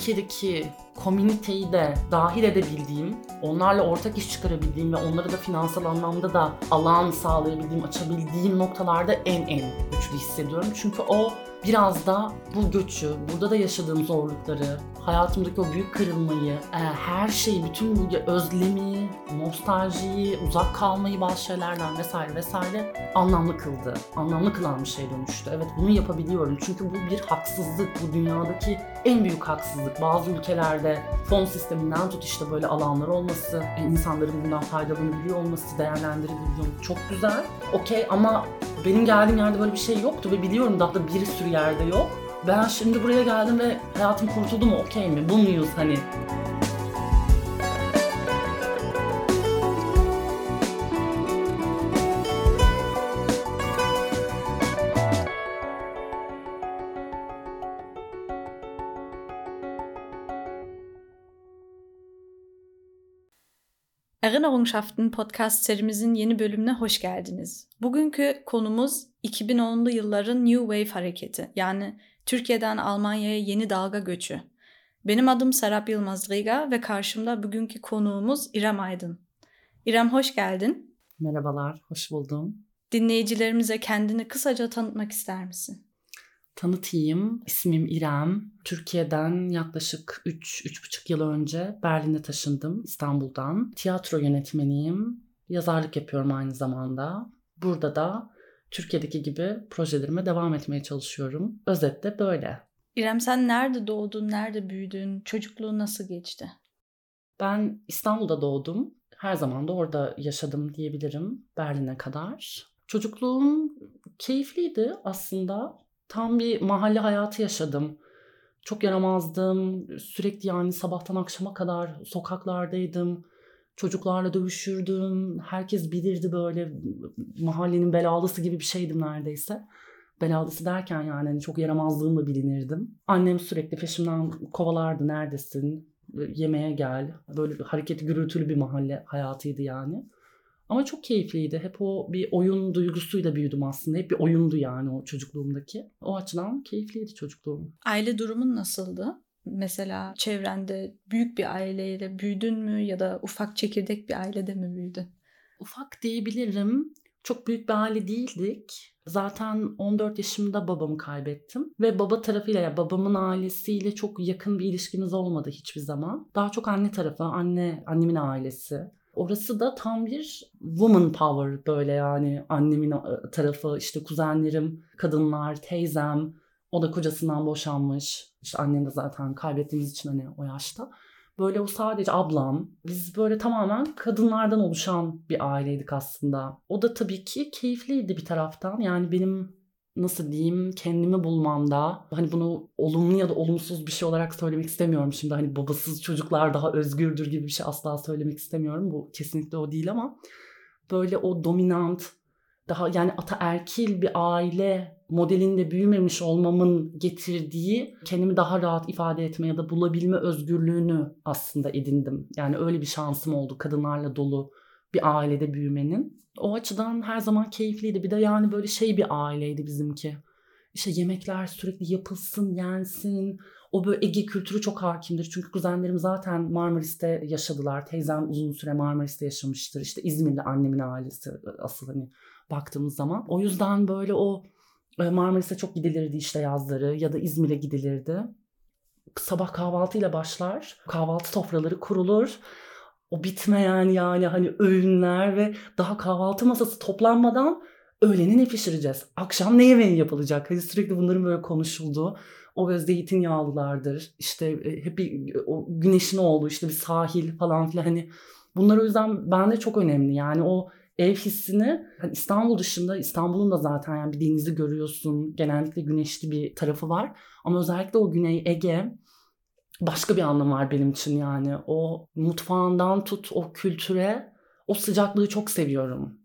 Türkiye'deki komüniteyi de dahil edebildiğim, onlarla ortak iş çıkarabildiğim ve onlara da finansal anlamda da alan sağlayabildiğim, açabildiğim noktalarda en güçlü hissediyorum. Çünkü o biraz da bu göçü, burada da yaşadığım zorlukları, hayatımdaki o büyük kırılmayı, her şeyi, bütün bu özlemi, nostaljiyi, uzak kalmayı bazı şeylerden vesaire anlamlı kıldı. Anlamlı kılan bir şey dönüştü. Evet, bunu yapabiliyorum. Çünkü bu bir haksızlık. Bu dünyadaki en büyük haksızlık. Bazı ülkelerde fon sisteminden tut işte böyle alanlar olması, insanların bundan faydalanabiliyor olması, değerlendirebiliyor. Çok güzel. Okey, ama benim geldiğim yerde böyle bir şey yoktu ve biliyorum daha da bir sürü yerde yok. Ben şimdi buraya geldim ve hayatım kurtuldu mu? Okey mi? Bu muyuz hani? Erinnerungschaften podcast serimizin yeni bölümüne hoş geldiniz. Bugünkü konumuz 2010'lu yılların New Wave hareketi, yani Türkiye'den Almanya'ya yeni dalga göçü. Benim adım Serap Yılmaz Riga ve karşımda bugünkü konuğumuz İrem Aydın. İrem, hoş geldin. Merhabalar, hoş buldum. Dinleyicilerimize kendini kısaca tanıtmak ister misin? Tanıtayım. İsmim İrem. Türkiye'den yaklaşık 3-3,5 yıl önce Berlin'e taşındım, İstanbul'dan. Tiyatro yönetmeniyim. Yazarlık yapıyorum aynı zamanda. Burada da Türkiye'deki gibi projelerime devam etmeye çalışıyorum. Özetle böyle. İrem, sen nerede doğdun, nerede büyüdün, çocukluğun nasıl geçti? Ben İstanbul'da doğdum. Her zaman da orada yaşadım diyebilirim Berlin'e kadar. Çocukluğum keyifliydi aslında. Tam bir mahalle hayatı yaşadım. Çok yaramazdım. Sürekli yani sabahtan akşama kadar sokaklardaydım. Çocuklarla dövüşürdüm. Herkes bilirdi, böyle mahallenin belalısı gibi bir şeydim neredeyse. Belalısı derken yani hani çok yaramazlığımla bilinirdim. Annem sürekli peşimden kovalardı, neredesin? Yemeğe gel. Böyle hareketli, gürültülü bir mahalle hayatıydı yani. Ama çok keyifliydi. Hep o bir oyun duygusuyla büyüdüm aslında. Hep bir oyundu yani o çocukluğumdaki. O açıdan keyifliydi çocukluğum. Aile durumun nasıldı? Mesela çevrende büyük bir aileyle büyüdün mü ya da ufak çekirdek bir ailede mi büyüdün? Ufak diyebilirim. Çok büyük bir aile değildik. Zaten 14 yaşımda babamı kaybettim. Ve baba tarafıyla, ya babamın ailesiyle çok yakın bir ilişkimiz olmadı hiçbir zaman. Daha çok anne tarafı, annemin ailesi. Orası da tam bir woman power, böyle yani annemin tarafı, işte kuzenlerim, kadınlar, teyzem. O da kocasından boşanmış. İşte annem de zaten kaybettiğimiz için hani o yaşta. Böyle o sadece ablam. Biz böyle tamamen kadınlardan oluşan bir aileydik aslında. O da tabii ki keyifliydi bir taraftan. Yani benim nasıl diyeyim, kendimi bulmamda, hani bunu olumlu ya da olumsuz bir şey olarak söylemek istemiyorum şimdi, hani babasız çocuklar daha özgürdür gibi bir şey asla söylemek istemiyorum. Bu kesinlikle o değil ama böyle o dominant, daha yani ataerkil bir aile modelinde büyümemiş olmamın getirdiği kendimi daha rahat ifade etme ya da bulabilme özgürlüğünü aslında edindim. Yani öyle bir şansım oldu kadınlarla dolu bir ailede büyümenin. O açıdan her zaman keyifliydi. Bir de yani böyle şey bir aileydi bizimki. İşte yemekler sürekli yapılsın, yensin. O böyle Ege kültürü çok hakimdir. Çünkü kuzenlerim zaten Marmaris'te yaşadılar. Teyzem uzun süre Marmaris'te yaşamıştır. İşte İzmirli annemin ailesi asıl hani baktığımız zaman. O yüzden böyle o Marmaris'e çok gidilirdi işte yazları, ya da İzmir'e gidilirdi. Sabah kahvaltıyla başlar. Kahvaltı sofraları kurulur. O bitmeyen yani hani öğünler ve daha kahvaltı masası toplanmadan öğleni ne pişireceğiz? Akşam ne yemeği yapılacak? Hani sürekli bunların böyle konuşulduğu. O böyle zeytinyağlılardır. İşte hep bir o güneşin olduğu işte bir sahil falan filan, hani bunlar o yüzden bende çok önemli. Yani o ev hissini, hani İstanbul dışında, İstanbul'un da zaten yani bir denizi görüyorsun. Genellikle güneşli bir tarafı var. Ama özellikle o Güney Ege başka bir anlam var benim için yani. O mutfağından tut o kültüre, o sıcaklığı çok seviyorum.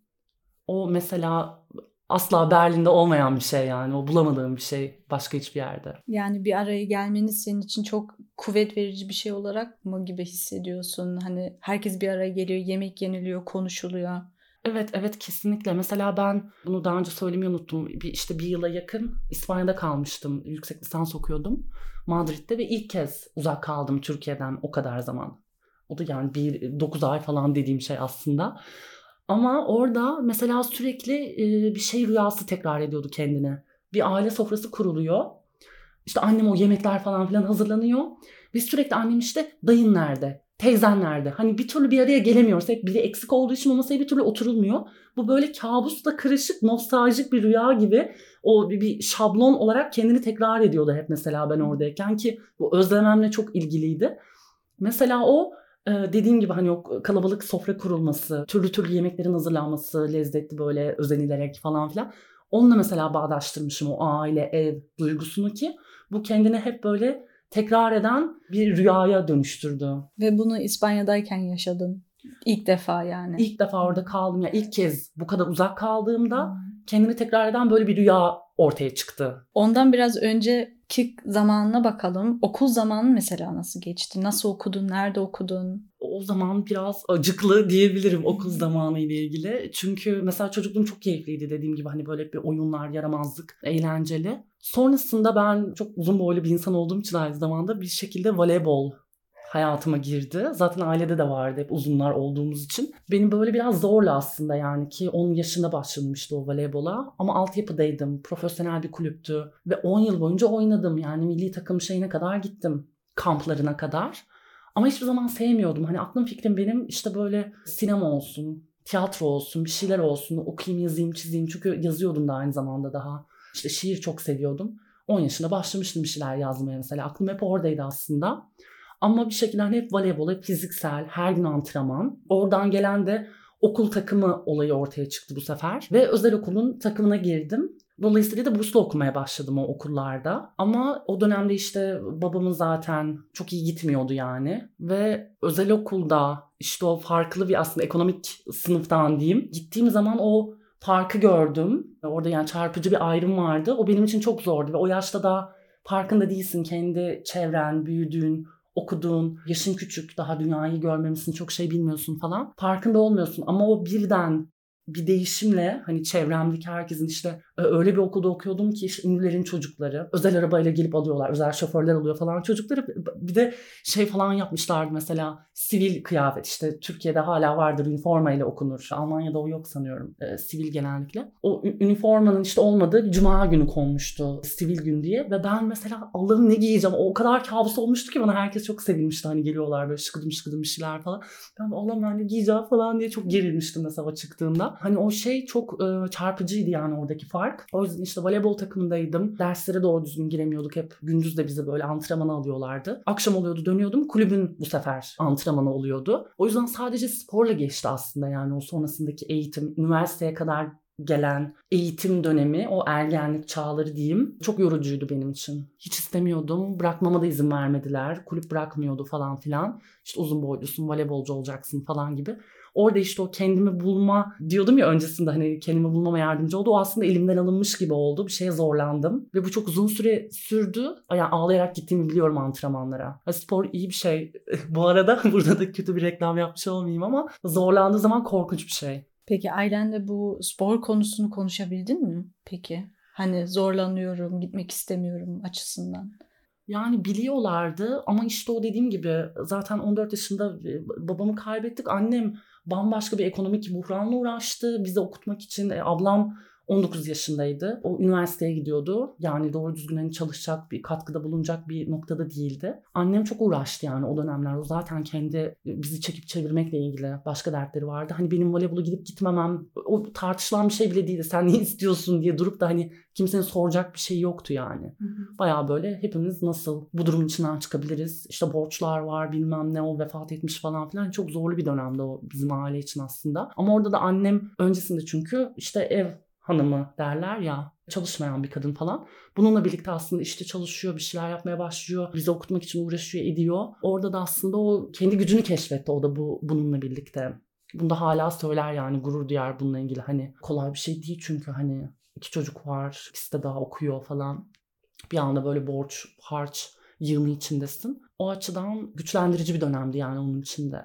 O mesela asla Berlin'de olmayan bir şey yani. O bulamadığım bir şey başka hiçbir yerde. Yani bir araya gelmeniz senin için çok kuvvet verici bir şey olarak mı gibi hissediyorsun? Hani herkes bir araya geliyor, yemek yeniliyor, konuşuluyor. Evet kesinlikle. Mesela ben bunu daha önce söylemeyi unuttum. Bir yıla yakın İspanya'da kalmıştım. Yüksek lisans okuyordum Madrid'de ve ilk kez uzak kaldım Türkiye'den o kadar zaman. O da yani 9 ay falan dediğim şey aslında. Ama orada mesela sürekli bir şey rüyası tekrar ediyordu kendine. Bir aile sofrası kuruluyor. İşte annem o yemekler falan filan hazırlanıyor. Biz sürekli annem işte dayın nerede? Teyzen nerede? Hani bir türlü bir araya gelemiyoruz. Hep biri eksik olduğu için o masaya bir türlü oturulmuyor. Bu böyle kabusla karışık, nostaljik bir rüya gibi o bir şablon olarak kendini tekrar ediyordu hep mesela ben oradayken ki bu özlememle çok ilgiliydi. Mesela o dediğim gibi hani o kalabalık sofra kurulması, türlü türlü yemeklerin hazırlanması, lezzetli böyle özenilerek falan filan. Onunla mesela bağdaştırmışım o aile, ev duygusunu ki bu kendini hep böyle tekrar eden bir rüyaya dönüştürdü. Ve bunu İspanya'dayken yaşadın. İlk defa yani. İlk defa orada kaldım ya, ilk kez bu kadar uzak kaldığımda kendini tekrar eden böyle bir rüya ortaya çıktı. Ondan biraz önceki zamanına bakalım. Okul zamanı mesela nasıl geçti? Nasıl okudun? Nerede okudun? O zaman biraz acıklı diyebilirim okul zamanı ile ilgili. Çünkü mesela çocukluğum çok keyifliydi dediğim gibi hani böyle bir oyunlar, yaramazlık, eğlenceli. Sonrasında ben çok uzun boylu bir insan olduğum için aynı zamanda bir şekilde voleybol hayatıma girdi. Zaten ailede de vardı hep uzunlar olduğumuz için. Benim böyle biraz zorla aslında yani ki 10 yaşında başlamıştı o voleybola. Ama altyapıdaydım. Profesyonel bir kulüptü. Ve 10 yıl boyunca oynadım. Yani milli takım şeyine kadar gittim. Kamplarına kadar. Ama hiçbir zaman sevmiyordum. Hani aklım fikrim benim işte böyle sinema olsun, tiyatro olsun, bir şeyler olsun. Okuyayım, yazayım, çizeyim. Çünkü yazıyordum da aynı zamanda daha. İşte şiir çok seviyordum. 10 yaşında başlamıştım bir şeyler yazmaya mesela. Aklım hep oradaydı aslında. Ama bir şekilde hani hep voleybol, hep fiziksel, her gün antrenman. Oradan gelen de okul takımı olayı ortaya çıktı bu sefer. Ve özel okulun takımına girdim. Dolayısıyla da burslu okumaya başladım o okullarda. Ama o dönemde işte babamın zaten çok iyi gitmiyordu yani. Ve özel okulda işte o farklı bir aslında ekonomik sınıftan diyeyim. Gittiğim zaman o farkı gördüm. Orada yani çarpıcı bir ayrım vardı. O benim için çok zordu ve o yaşta da farkında değilsin. Kendi çevren, büyüdüğün, okuduğun, yaşın küçük, daha dünyayı görmemişsin, çok şey bilmiyorsun falan. Farkında olmuyorsun ama o birden bir değişimle hani çevremdeki herkesin işte öyle bir okulda okuyordum ki işte ünlülerin çocukları özel arabayla gelip alıyorlar. Özel şoförler alıyor falan çocukları. Bir de şey falan yapmışlardı mesela sivil kıyafet işte Türkiye'de hala vardır üniformayla okunur. Almanya'da o yok sanıyorum. Sivil genellikle. O üniformanın işte olmadığı cuma günü konmuştu sivil gün diye ve ben mesela Allah'ım ne giyeceğim o kadar kabus olmuştu ki bana herkes çok sevinmişti hani geliyorlar böyle şıkıdım şıkıdım bir şeyler falan. Ben Allah'ım ben ne giyeceğim falan diye çok gerilmiştim mesela çıktığımda. Hani o şey çok çarpıcıydı yani oradaki fark. O yüzden işte voleybol takımındaydım. Derslere doğru düzgün giremiyorduk. Hep gündüz de bizi böyle antrenmana alıyorlardı. Akşam oluyordu dönüyordum. Kulübün bu sefer antrenmanı oluyordu. O yüzden sadece sporla geçti aslında yani o sonrasındaki eğitim. Üniversiteye kadar gelen eğitim dönemi, o ergenlik çağları diyeyim, çok yorucuydu benim için. Hiç istemiyordum. Bırakmama da izin vermediler. Kulüp bırakmıyordu falan filan. İşte uzun boylusun, voleybolcu olacaksın falan gibi. Orada işte o kendimi bulma diyordum ya öncesinde hani kendimi bulmama yardımcı oldu. O aslında elimden alınmış gibi oldu. Bir şeye zorlandım. Ve bu çok uzun süre sürdü. Yani ağlayarak gittiğimi biliyorum antrenmanlara. Spor iyi bir şey. Bu arada burada da kötü bir reklam yapmış olmayayım ama zorlandığı zaman korkunç bir şey. Peki ailenle bu spor konusunu konuşabildin mi peki? Hani zorlanıyorum, gitmek istemiyorum açısından. Yani biliyorlardı ama işte o dediğim gibi zaten 14 yaşında babamı kaybettik. Annem bambaşka bir ekonomik buhranla uğraştı. Bizi okutmak için ablam 19 yaşındaydı. O üniversiteye gidiyordu. Yani doğru düzgün hani çalışacak bir katkıda bulunacak bir noktada değildi. Annem çok uğraştı yani o dönemler. O zaten kendi bizi çekip çevirmekle ilgili başka dertleri vardı. Hani benim voleybolu gidip gitmemem o tartışılan bir şey bile değildi. Sen ne istiyorsun diye durup da hani kimsenin soracak bir şey yoktu yani. Bayağı böyle hepimiz nasıl bu durumun içinden çıkabiliriz? İşte borçlar var bilmem ne o vefat etmiş falan filan. Çok zorlu bir dönemde o bizim aile için aslında. Ama orada da annem öncesinde çünkü işte ev hanımı derler ya çalışmayan bir kadın falan. Bununla birlikte aslında işte çalışıyor bir şeyler yapmaya başlıyor. Bizi okutmak için uğraşıyor ediyor. Orada da aslında o kendi gücünü keşfetti o da bununla birlikte. Bunu da hala söyler yani gurur duyar bununla ilgili. Hani kolay bir şey değil çünkü hani 2 çocuk var. İkisi de daha okuyor falan. Bir anda böyle borç, harç yığını içindesin. O açıdan güçlendirici bir dönemdi yani onun içinde.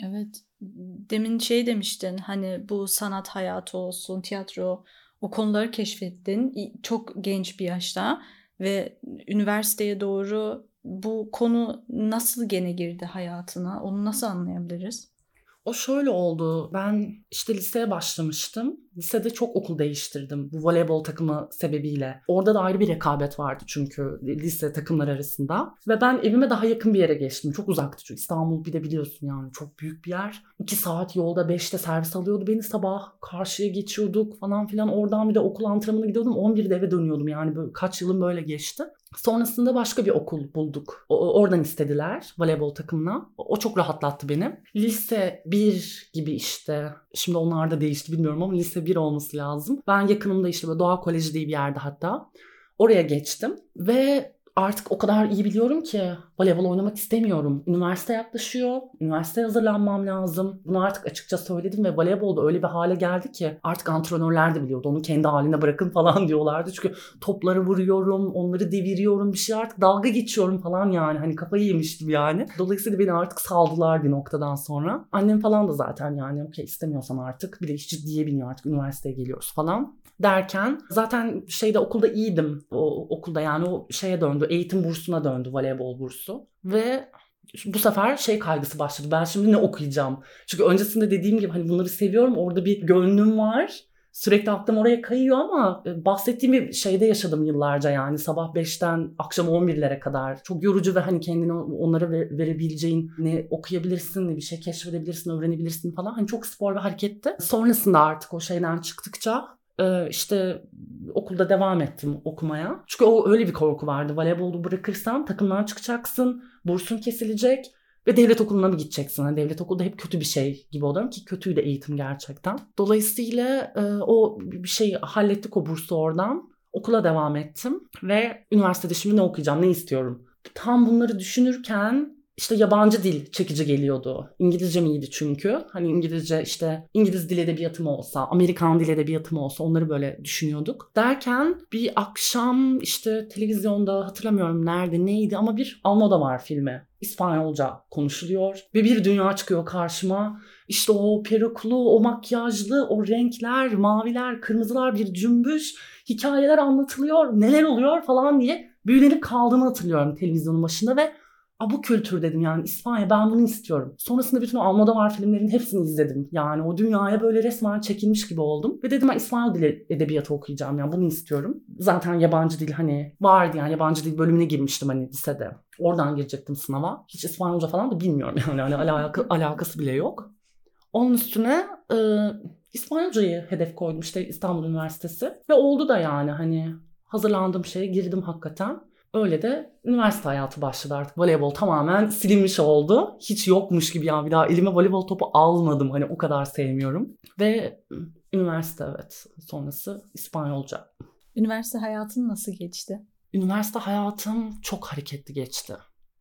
Evet. Demin demiştin, hani bu sanat hayatı olsun, tiyatro, o konuları keşfettin çok genç bir yaşta ve üniversiteye doğru bu konu nasıl gene girdi hayatına? Onu nasıl anlayabiliriz? O şöyle oldu. Ben işte liseye başlamıştım. Lisede çok okul değiştirdim bu voleybol takımı sebebiyle. Orada da ayrı bir rekabet vardı çünkü lise takımlar arasında. Ve ben evime daha yakın bir yere geçtim. Çok uzaktı çünkü İstanbul, bir de biliyorsun yani çok büyük bir yer. 2 saat yolda, 5'te servis alıyordu beni sabah. Karşıya geçiyorduk falan filan. Oradan bir de okul antrenmanına gidiyordum. 11'de eve dönüyordum, yani böyle kaç yılım böyle geçti. Sonrasında başka bir okul bulduk. Oradan istediler voleybol takımına. O çok rahatlattı beni. Lise 1 gibi işte. Şimdi onlar da değişti bilmiyorum ama lise 1 olması lazım. Ben yakınımda işte böyle Doğa Koleji diye bir yerde hatta. Oraya geçtim ve artık o kadar iyi biliyorum ki voleybol oynamak istemiyorum. Üniversite yaklaşıyor. Üniversiteye hazırlanmam lazım. Bunu artık açıkça söyledim ve voleybolda öyle bir hale geldi ki artık antrenörler de biliyordu. Onu kendi haline bırakın falan diyorlardı. Çünkü topları vuruyorum, onları deviriyorum, bir şey, artık dalga geçiyorum falan yani. Hani kafayı yemiştim yani. Dolayısıyla beni artık saldılar bir noktadan sonra. Annem falan da zaten yani okey istemiyorsan artık, bir de hiç ciddiye biniyor artık, üniversiteye geliyoruz falan derken zaten okulda iyiydim. O okulda yani o döndü. Eğitim bursuna döndü, voleybol bursu. Ve bu sefer kaygısı başladı. Ben şimdi ne okuyacağım? Çünkü öncesinde dediğim gibi hani bunları seviyorum. Orada bir gönlüm var. Sürekli aklım oraya kayıyor ama bahsettiğim bir şeyde yaşadım yıllarca yani. Sabah 5'ten akşam 11'lere kadar. Çok yorucu ve hani kendini onlara verebileceğin, ne okuyabilirsin, ne bir şey keşfedebilirsin, öğrenebilirsin falan. Hani çok spor ve hareketti. Sonrasında artık o şeyden çıktıkça işte okulda devam ettim okumaya. Çünkü o öyle bir korku vardı. Voleybolu bırakırsan takımdan çıkacaksın, bursun kesilecek ve devlet okuluna mı gideceksin? Yani devlet okulu da hep kötü bir şey gibi oluyorum ki kötüydü eğitim gerçekten. Dolayısıyla o bir şeyi hallettik, o bursu oradan. Okula devam ettim ve üniversitede şimdi ne okuyacağım, ne istiyorum? Tam bunları düşünürken İşte yabancı dil çekici geliyordu. İngilizcem iyiydi çünkü. Hani İngilizce işte İngiliz dil edebiyatı mı olsa, Amerikan dil edebiyatı mı olsa onları böyle düşünüyorduk. Derken bir akşam işte televizyonda, hatırlamıyorum nerede neydi ama bir Almodovar filmi, İspanyolca konuşuluyor ve bir dünya çıkıyor karşıma. İşte o peruklu, o makyajlı, o renkler, maviler, kırmızılar, bir cümbüş, hikayeler anlatılıyor, neler oluyor falan diye büyülenip kaldığımı hatırlıyorum televizyonun başında ve bu kültür dedim yani, İspanya, ben bunu istiyorum. Sonrasında bütün o Almodovar filmlerinin hepsini izledim. Yani o dünyaya böyle resmen çekilmiş gibi oldum. Ve dedim ben İspanyol dili edebiyatı okuyacağım, yani bunu istiyorum. Zaten yabancı dil hani vardı, yani yabancı dil bölümüne girmiştim hani lisede. Oradan girecektim sınava. Hiç İspanyolca falan da bilmiyorum yani hani alakası bile yok. Onun üstüne İspanyolcayı hedef koydum işte, İstanbul Üniversitesi. Ve oldu da yani hani hazırlandığım şeye girdim hakikaten. Öyle de üniversite hayatı başladı artık. Voleybol tamamen silinmiş oldu. Hiç yokmuş gibi yani, bir daha elime voleybol topu almadım. Hani o kadar sevmiyorum. Ve üniversite, evet, sonrası İspanyolca. Üniversite hayatın nasıl geçti? Üniversite hayatım çok hareketli geçti.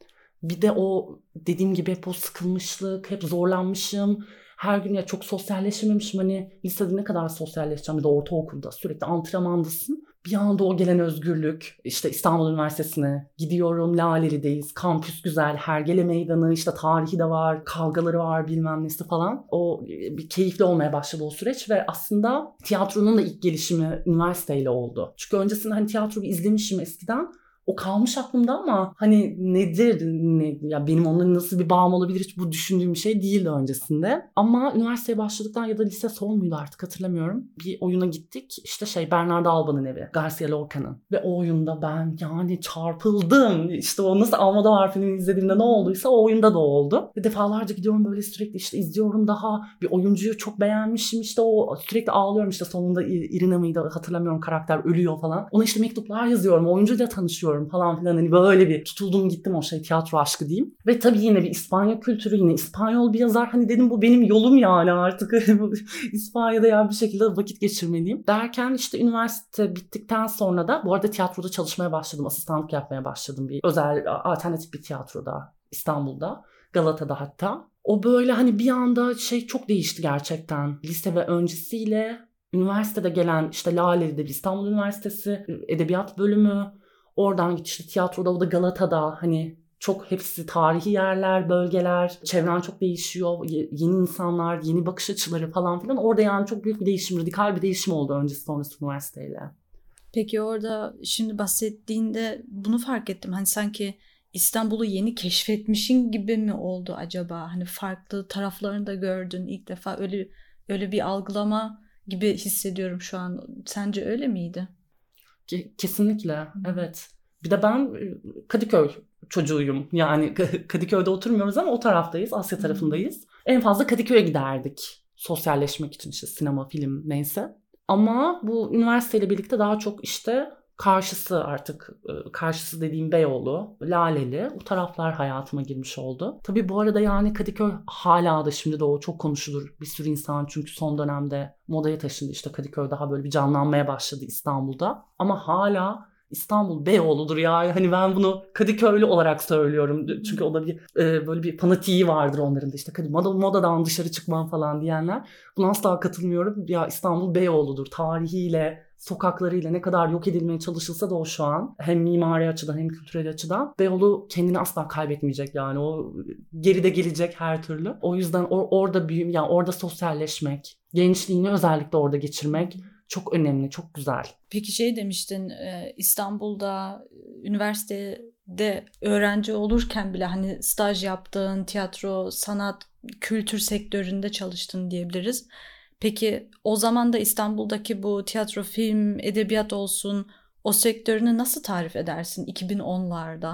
Bir de o dediğim gibi hep o sıkılmışlık, hep zorlanmışım. Her gün ya çok sosyalleşememişim. Hani lisede ne kadar sosyalleşeceğim, bir de ortaokulda sürekli antrenmandasın. Bir anda o gelen özgürlük, işte İstanbul Üniversitesi'ne gidiyorum, Laleli'deyiz, kampüs güzel, Hergele Meydanı, işte tarihi de var, kavgaları var, bilmem nesi falan. O bir keyifli olmaya başladı o süreç ve aslında tiyatronun da ilk gelişimi üniversiteyle oldu. Çünkü öncesinde hani tiyatroyu izlemişim eskiden. O kalmış aklımda ama hani nedir, ya benim onunla nasıl bir bağım olabilir, hiç bu düşündüğüm bir şey değildi öncesinde. Ama üniversiteye başladıktan ya da lise son muydu artık hatırlamıyorum. Bir oyuna gittik, işte Bernardo Alba'nın evi, Garcia Lorca'nın. Ve o oyunda ben yani çarpıldım. İşte o nasıl Almodovar filmini izlediğimde ne olduysa o oyunda da oldu. Ve defalarca gidiyorum böyle, sürekli işte izliyorum, daha bir oyuncuyu çok beğenmişim, işte o sürekli ağlıyorum, işte sonunda Irina mıydı hatırlamıyorum, karakter ölüyor falan. Ona işte mektuplar yazıyorum, oyuncuyla tanışıyorum falan filan, hani böyle bir tutuldum gittim o tiyatro aşkı diyeyim. Ve tabii yine bir İspanya kültürü, yine İspanyol bir yazar, hani dedim bu benim yolum yani artık İspanya'da yani bir şekilde vakit geçirmeliyim. Derken işte üniversite bittikten sonra da bu arada tiyatroda çalışmaya başladım, asistanlık yapmaya başladım bir özel alternatif bir tiyatroda İstanbul'da, Galata'da hatta. O böyle hani bir anda çok değişti gerçekten, lise ve öncesiyle. Üniversitede gelen işte Laleli'de bir İstanbul Üniversitesi Edebiyat bölümü. Oradan git işte tiyatroda, o da Galata'da, hani Çok hepsi tarihi yerler, bölgeler, çevren çok değişiyor, yeni insanlar, yeni bakış açıları falan filan. Orada yani çok büyük bir değişim, radikal bir değişim oldu öncesi sonrası üniversiteyle. Peki orada şimdi bahsettiğinde bunu fark ettim. Hani sanki İstanbul'u yeni keşfetmişin gibi mi oldu acaba? Hani farklı taraflarını da gördün ilk defa, öyle bir algılama gibi hissediyorum şu an. Sence öyle miydi? Kesinlikle, evet. Bir de ben Kadıköy çocuğuyum. Yani Kadıköy'de oturmuyoruz ama o taraftayız, Asya tarafındayız. En fazla Kadıköy'e giderdik sosyalleşmek için, işte sinema, film neyse. Ama bu üniversiteyle birlikte daha çok işte karşısı dediğim Beyoğlu, Laleli, o taraflar hayatıma girmiş oldu. Tabii bu arada yani Kadıköy hala da şimdi de o çok konuşulur. Bir sürü insan çünkü son dönemde modaya taşındı, işte Kadıköy daha böyle bir canlanmaya başladı İstanbul'da. Ama hala İstanbul Beyoğlu'dur ya. Hani ben bunu Kadıköylü olarak söylüyorum. Çünkü o da bir böyle bir fanatiği vardır onların da, işte modadan dışarı çıkmam falan diyenler. Buna asla katılmıyorum. Ya İstanbul Beyoğlu'dur. Tarihiyle, sokaklarıyla ne kadar yok edilmeye çalışılsa da o şu an hem mimari açıdan hem kültürel açıdan Beyoğlu kendini asla kaybetmeyecek yani. O geride gelecek her türlü. O yüzden orada yani orada sosyalleşmek, gençliğini özellikle orada geçirmek çok önemli, çok güzel. Peki şey demiştin, İstanbul'da üniversitede öğrenci olurken bile hani staj yaptın, tiyatro, sanat, kültür sektöründe çalıştın diyebiliriz. Peki o zaman da İstanbul'daki bu tiyatro, film, edebiyat olsun, o sektörünü nasıl tarif edersin 2010'larda?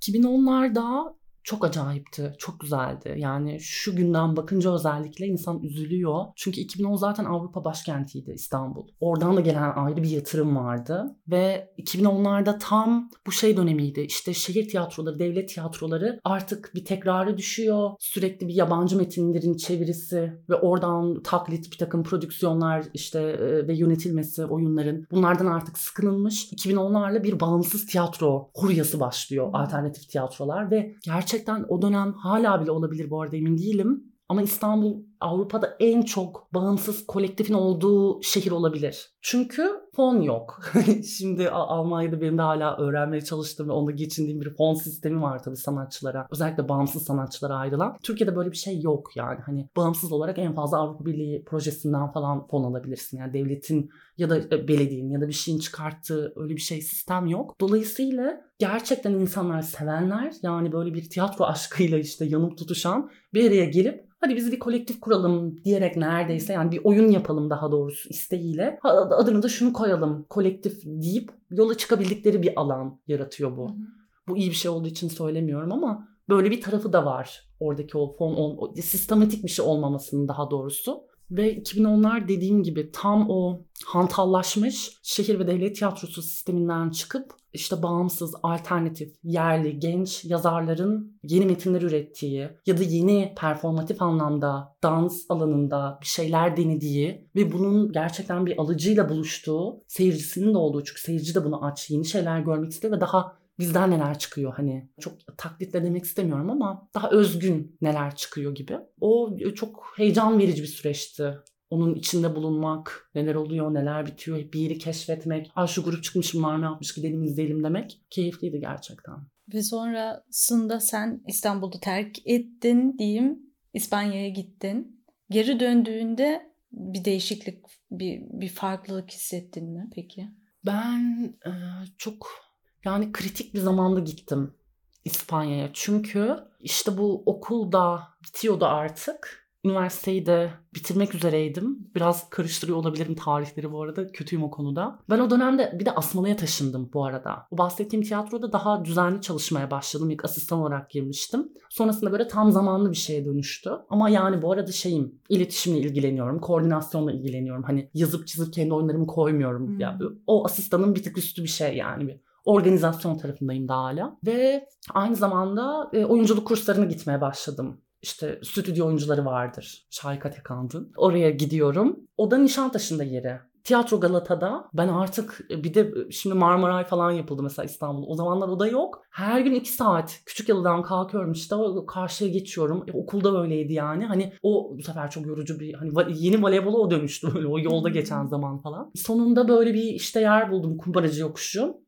2010'larda çok acayipti, çok güzeldi. Yani şu günden bakınca özellikle insan üzülüyor. Çünkü 2010 zaten Avrupa başkentiydi İstanbul. Oradan da gelen ayrı bir yatırım vardı. Ve 2010'larda tam bu şey dönemiydi. İşte şehir tiyatroları, devlet tiyatroları artık bir tekrara düşüyor. Sürekli bir yabancı metinlerin çevirisi ve oradan taklit bir takım prodüksiyonlar işte ve yönetilmesi oyunların. Bunlardan artık sıkılınmış. 2010'larla bir bağımsız tiyatro furyası başlıyor. Alternatif tiyatrolar ve gerçekten o dönem hala bile olabilir, bu arada emin değilim. Ama İstanbul Avrupa'da en çok bağımsız kolektifin olduğu şehir olabilir. Çünkü fon yok. Şimdi Almanya'da benim de hala öğrenmeye çalıştığım ve onda geçindiğim bir fon sistemi var tabii sanatçılara. Özellikle bağımsız sanatçılara ayrılan. Türkiye'de böyle bir şey yok yani. Hani bağımsız olarak en fazla Avrupa Birliği projesinden falan fon alabilirsin. Yani devletin ya da belediyenin ya da bir şeyin çıkarttığı öyle bir sistem yok. Dolayısıyla gerçekten insanlar, sevenler, yani böyle bir tiyatro aşkıyla işte yanıp tutuşan bir araya gelip hadi biz bir kolektif kuralım diyerek, neredeyse yani bir oyun yapalım daha doğrusu isteğiyle, adını da şunu koyalım kolektif deyip yola çıkabildikleri bir alan yaratıyor bu. Bu iyi bir şey olduğu için söylemiyorum ama böyle bir tarafı da var oradaki o fon, sistematik bir şey olmamasının daha doğrusu. Ve 2010'lar dediğim gibi tam o hantallaşmış şehir ve devlet tiyatrosu sisteminden çıkıp işte bağımsız, alternatif, yerli, genç yazarların yeni metinler ürettiği ya da yeni performatif anlamda dans alanında bir şeyler denediği ve bunun gerçekten bir alıcıyla buluştuğu, seyircisinin de olduğu, çünkü seyirci de bunu aç, yeni şeyler görmek istiyor ve daha bizden neler çıkıyor, hani çok taklitle demek istemiyorum ama daha özgün neler çıkıyor gibi. O çok heyecan verici bir süreçti. Onun içinde bulunmak, neler oluyor, neler bitiyor, bir yeri keşfetmek. Şu grup çıkmış, bunlar ne yapmış, gidelim izleyelim demek keyifliydi gerçekten. Ve sonrasında sen İstanbul'u terk ettin diyeyim, İspanya'ya gittin. Geri döndüğünde bir değişiklik, bir farklılık hissettin mi peki? Ben çok yani kritik bir zamanda gittim İspanya'ya. Çünkü işte bu okul da bitiyordu artık. Üniversiteyi de bitirmek üzereydim. Biraz karıştırıyor olabilirim tarihleri bu arada. Kötüyüm o konuda. Ben o dönemde bir de Asmalı'ya taşındım bu arada. O bahsettiğim tiyatroda daha düzenli çalışmaya başladım. İlk asistan olarak girmiştim. Sonrasında böyle tam zamanlı bir şeye dönüştü. Ama yani bu arada iletişimle ilgileniyorum. Koordinasyonla ilgileniyorum. Hani yazıp çizip kendi oyunlarımı koymuyorum. Yani o asistanın bir tık üstü bir şey yani. Bir organizasyon tarafındayım daha hala. Ve aynı zamanda oyunculuk kurslarına gitmeye başladım. İşte stüdyo oyuncuları vardır. Şahika Tekand'ın. Oraya gidiyorum. O da Nişantaşı'nda yeri. Tiyatro Galata'da. Ben artık bir de şimdi Marmaray falan yapıldı mesela İstanbul'da. O zamanlar o da yok. Her gün 2 saat Küçükyalı'dan kalkıyorum işte. Karşıya geçiyorum. Okulda öyleydi yani. Hani o bu sefer çok yorucu bir, hani yeni voleybola o dönüştü böyle o yolda geçen zaman falan. Sonunda böyle bir işte yer buldum. Kumbaracı Yokuşu.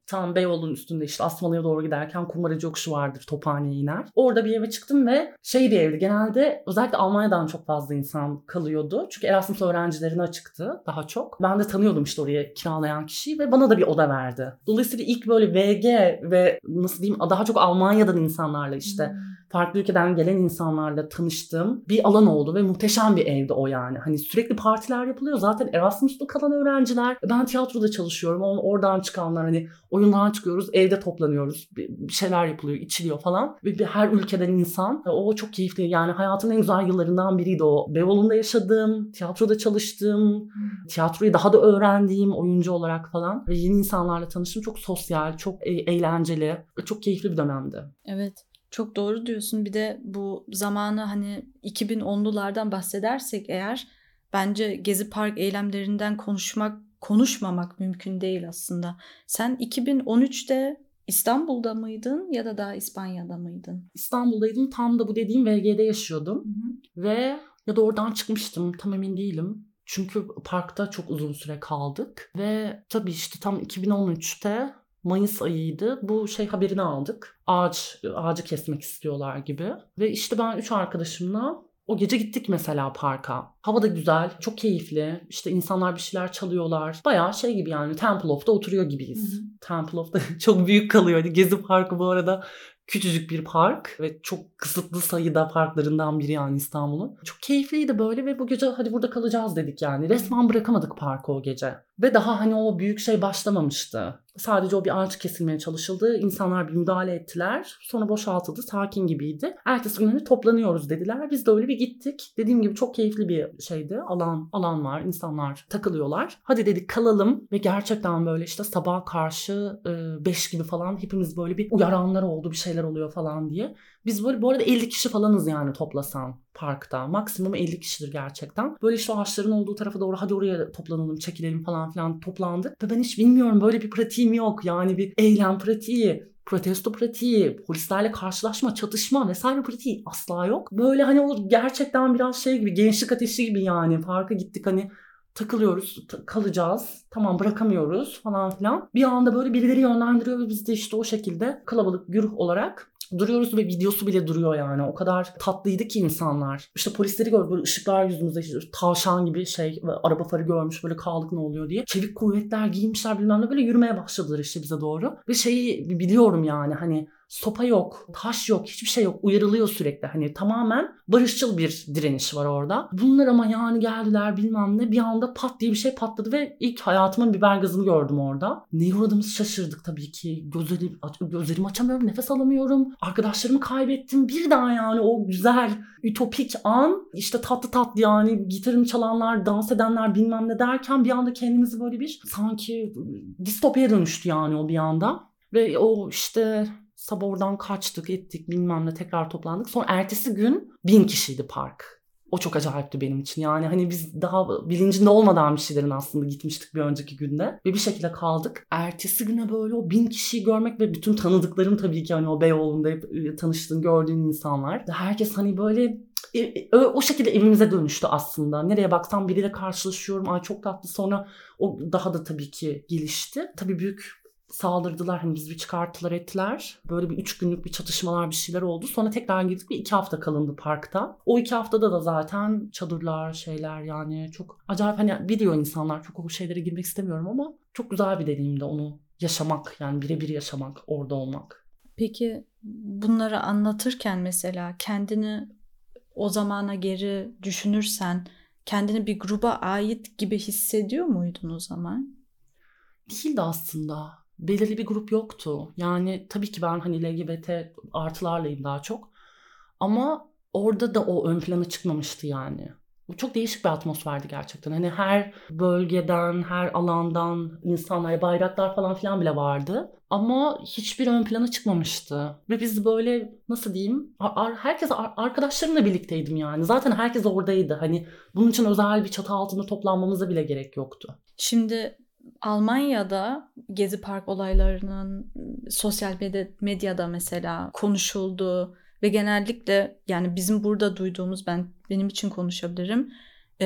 Tam Beyoğlu'nun üstünde işte Asmalı'ya doğru giderken Kumbaracı Yokuşu vardır, Tophane'ye iner. Orada bir eve çıktım ve bir evdi. Genelde özellikle Almanya'dan çok fazla insan kalıyordu. Çünkü Erasmus öğrencilerine açıktı daha çok. Ben de tanıyordum işte oraya kiralayan kişiyi ve bana da bir oda verdi. Dolayısıyla ilk böyle VG ve nasıl diyeyim daha çok Almanya'dan insanlarla işte farklı ülkeden gelen insanlarla tanıştığım bir alan oldu ve muhteşem bir evdi o yani. Hani sürekli partiler yapılıyor. Zaten Erasmus'ta kalan öğrenciler. Ben tiyatroda çalışıyorum. Oradan çıkanlar hani oyundan çıkıyoruz, evde toplanıyoruz. Bir şeyler yapılıyor, içiliyor falan. Ve her ülkeden insan. O çok keyifli. Yani hayatımın en güzel yıllarından biriydi o. Beyoğlu'nda yaşadığım, tiyatroda çalıştığım, tiyatroyu daha da öğrendiğim oyuncu olarak falan. Ve yeni insanlarla tanıştım. Çok sosyal, çok eğlenceli, çok keyifli bir dönemdi. Evet. Çok doğru diyorsun. Bir de bu zamanı hani 2010'lulardan bahsedersek eğer bence Gezi Park eylemlerinden konuşmamak mümkün değil aslında. Sen 2013'te İstanbul'da mıydın ya da daha İspanya'da mıydın? İstanbul'daydım. Tam da bu dediğim VG'de yaşıyordum. Ve ya da oradan çıkmıştım. Tam emin değilim. Çünkü parkta çok uzun süre kaldık. Ve tabii işte tam 2013'te Mayıs ayıydı. Bu haberini aldık. Ağacı kesmek istiyorlar gibi. Ve işte ben 3 arkadaşımla o gece gittik mesela parka. Hava da güzel, çok keyifli. İşte insanlar bir şeyler çalıyorlar. Bayağı gibi yani Temple Of'ta oturuyor gibiyiz. Temple Of'ta çok büyük kalıyor. Gezi Parkı bu arada küçücük bir park ve çok kısıtlı sayıda parklarından biri yani İstanbul'un. Çok keyifliydi böyle ve bu gece hadi burada kalacağız dedik yani. Resmen bırakamadık parkı o gece. Ve daha hani o büyük başlamamıştı. Sadece o bir ağaç kesilmeye çalışıldı. İnsanlar bir müdahale ettiler. Sonra boşaltıldı. Sakin gibiydi. Ertesi gün toplanıyoruz dediler. Biz de öyle bir gittik. Dediğim gibi çok keyifli bir şeydi. Alan var. İnsanlar takılıyorlar. Hadi dedik kalalım. Ve gerçekten böyle işte sabaha karşı 5 gibi falan hepimiz böyle bir uyaranlar oldu. Bir şeyler oluyor falan diye. Biz böyle bu arada 50 kişi falanız yani toplasan parkta. Maksimum 50 kişidir gerçekten. Böyle işte ağaçların olduğu tarafa doğru hadi oraya toplanalım, çekilelim falan filan toplandık. Ve ben hiç bilmiyorum böyle bir pratiğim yok. Yani bir eylem pratiği, protesto pratiği, polislerle karşılaşma, çatışma vesaire pratiği asla yok. Böyle hani o gerçekten biraz gibi gençlik ateşi gibi yani. Parka gittik hani takılıyoruz, kalacağız. Tamam bırakamıyoruz falan filan. Bir anda böyle birileri yönlendiriyor ve biz de işte o şekilde kalabalık güruh olarak duruyoruz ve videosu bile duruyor yani. O kadar tatlıydı ki insanlar. İşte polisleri gördük böyle ışıklar yüzümüzde işte tavşan gibi araba farı görmüş böyle kaldık ne oluyor diye. Çevik kuvvetler giymişler bilmem ne böyle yürümeye başladılar işte bize doğru. Ve biliyorum yani hani sopa yok, taş yok, hiçbir şey yok. Uyarılıyor sürekli. Hani tamamen barışçıl bir direniş var orada. Bunlar ama yani geldiler bilmem ne bir anda pat diye bir şey patladı ve ilk hayatımın biber gazını gördüm orada. Neye uğradığımızı şaşırdık tabii ki. Gözlerimi açamıyorum, nefes alamıyorum. Arkadaşlarımı kaybettim. Bir daha yani o güzel, ütopik an işte tatlı yani gitarını çalanlar, dans edenler bilmem ne derken bir anda kendimizi böyle bir sanki distopyaya dönüştü yani o bir anda. Ve o işte sabah oradan kaçtık ettik bilmem ne tekrar toplandık. Sonra ertesi gün 1000 kişiydi park. O çok acayipti benim için. Yani hani biz daha bilincinde olmadan bir şeylerin aslında gitmiştik bir önceki günde. Ve bir şekilde kaldık. Ertesi güne böyle o 1000 kişiyi görmek ve bütün tanıdıklarım tabii ki hani o Beyoğlu'nda tanıştığın, gördüğün insanlar. Herkes hani böyle o şekilde evimize dönüştü aslında. Nereye baksam biriyle karşılaşıyorum. Ay çok tatlı. Sonra o daha da tabii ki gelişti. Tabii büyük saldırdılar hani bizi bir çıkarttılar ettiler. Böyle bir 3 günlük bir çatışmalar bir şeyler oldu. Sonra tekrar gittik bir 2 hafta kalındı parkta. O 2 haftada da zaten çadırlar şeyler yani çok acayip hani biliyor insanlar çok o şeylere girmek istemiyorum ama çok güzel bir deneyimdi onu yaşamak yani birebir yaşamak orada olmak. Peki bunları anlatırken mesela kendini o zamana geri düşünürsen kendini bir gruba ait gibi hissediyor muydun o zaman? Değildi aslında. Belirli bir grup yoktu. Yani tabii ki ben hani LGBT artılarlayım daha çok. Ama orada da o ön plana çıkmamıştı yani. Bu çok değişik bir atmosferdi gerçekten. Hani her bölgeden, her alandan insanlar, bayraklar falan filan bile vardı. Ama hiçbir ön plana çıkmamıştı. Ve biz böyle nasıl diyeyim, herkes arkadaşlarımla birlikteydim yani. Zaten herkes oradaydı. Hani bunun için özel bir çatı altında toplanmamıza bile gerek yoktu. Şimdi Almanya'da Gezi Park olaylarının sosyal medyada mesela konuşulduğu ve genellikle yani bizim burada duyduğumuz benim için konuşabilirim.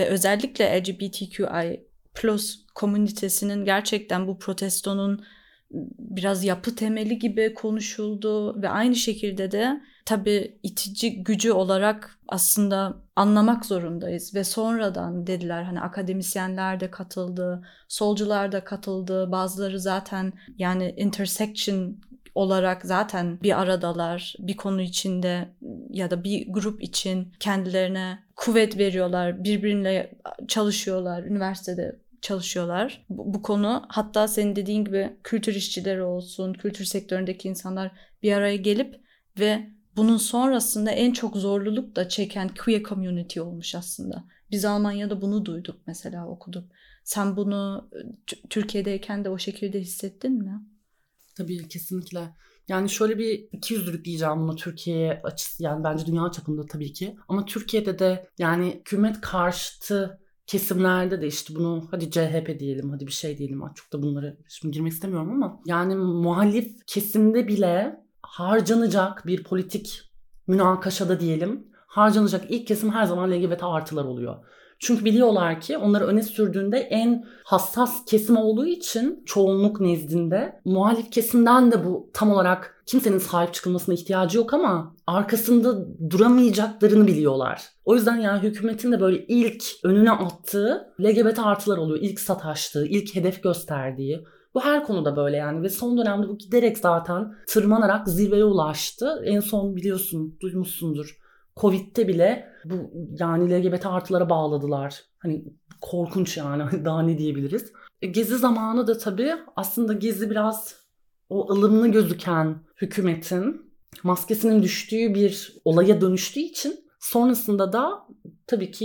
Özellikle LGBTQI+ komünitesinin gerçekten bu protestonun biraz yapı temeli gibi konuşuldu ve aynı şekilde de tabii itici gücü olarak aslında anlamak zorundayız ve sonradan dediler hani akademisyenler de katıldı, solcular da katıldı, bazıları zaten yani intersection olarak zaten bir aradalar, bir konu içinde ya da bir grup için kendilerine kuvvet veriyorlar, birbiriyle çalışıyorlar, üniversitede çalışıyorlar. Bu konu hatta senin dediğin gibi kültür işçileri olsun, kültür sektöründeki insanlar bir araya gelip ve bunun sonrasında en çok zorluluk da çeken queer community olmuş aslında. Biz Almanya'da bunu duyduk mesela, okuduk. Sen bunu Türkiye'deyken de o şekilde hissettin mi? Tabii kesinlikle. Yani şöyle bir ikiyüzlülük diyeceğim buna Türkiye açısı, yani bence dünya çapında tabii ki. Ama Türkiye'de de yani hükümet karşıtı kesimlerde de işte bunu hadi CHP diyelim, hadi bir şey diyelim. Çok da bunlara şimdi girmek istemiyorum ama yani muhalif kesimde bile harcanacak bir politik münakaşada diyelim, harcanacak ilk kesim her zaman LGBT artılar oluyor. Çünkü biliyorlar ki onları öne sürdüğünde en hassas kesim olduğu için çoğunluk nezdinde muhalif kesimden de bu tam olarak kimsenin sahip çıkılmasına ihtiyacı yok ama arkasında duramayacaklarını biliyorlar. O yüzden yani hükümetin de böyle ilk önüne attığı LGBT artılar oluyor. İlk sataştığı, ilk hedef gösterdiği. Bu her konuda böyle yani ve son dönemde bu giderek zaten tırmanarak zirveye ulaştı. En son biliyorsun, duymuşsundur. Covid'de bile bu yani LGBT artılara bağladılar. Hani korkunç yani daha ne diyebiliriz. Gezi zamanı da tabii aslında Gezi biraz o ılımlı gözüken hükümetin maskesinin düştüğü bir olaya dönüştüğü için sonrasında da tabii ki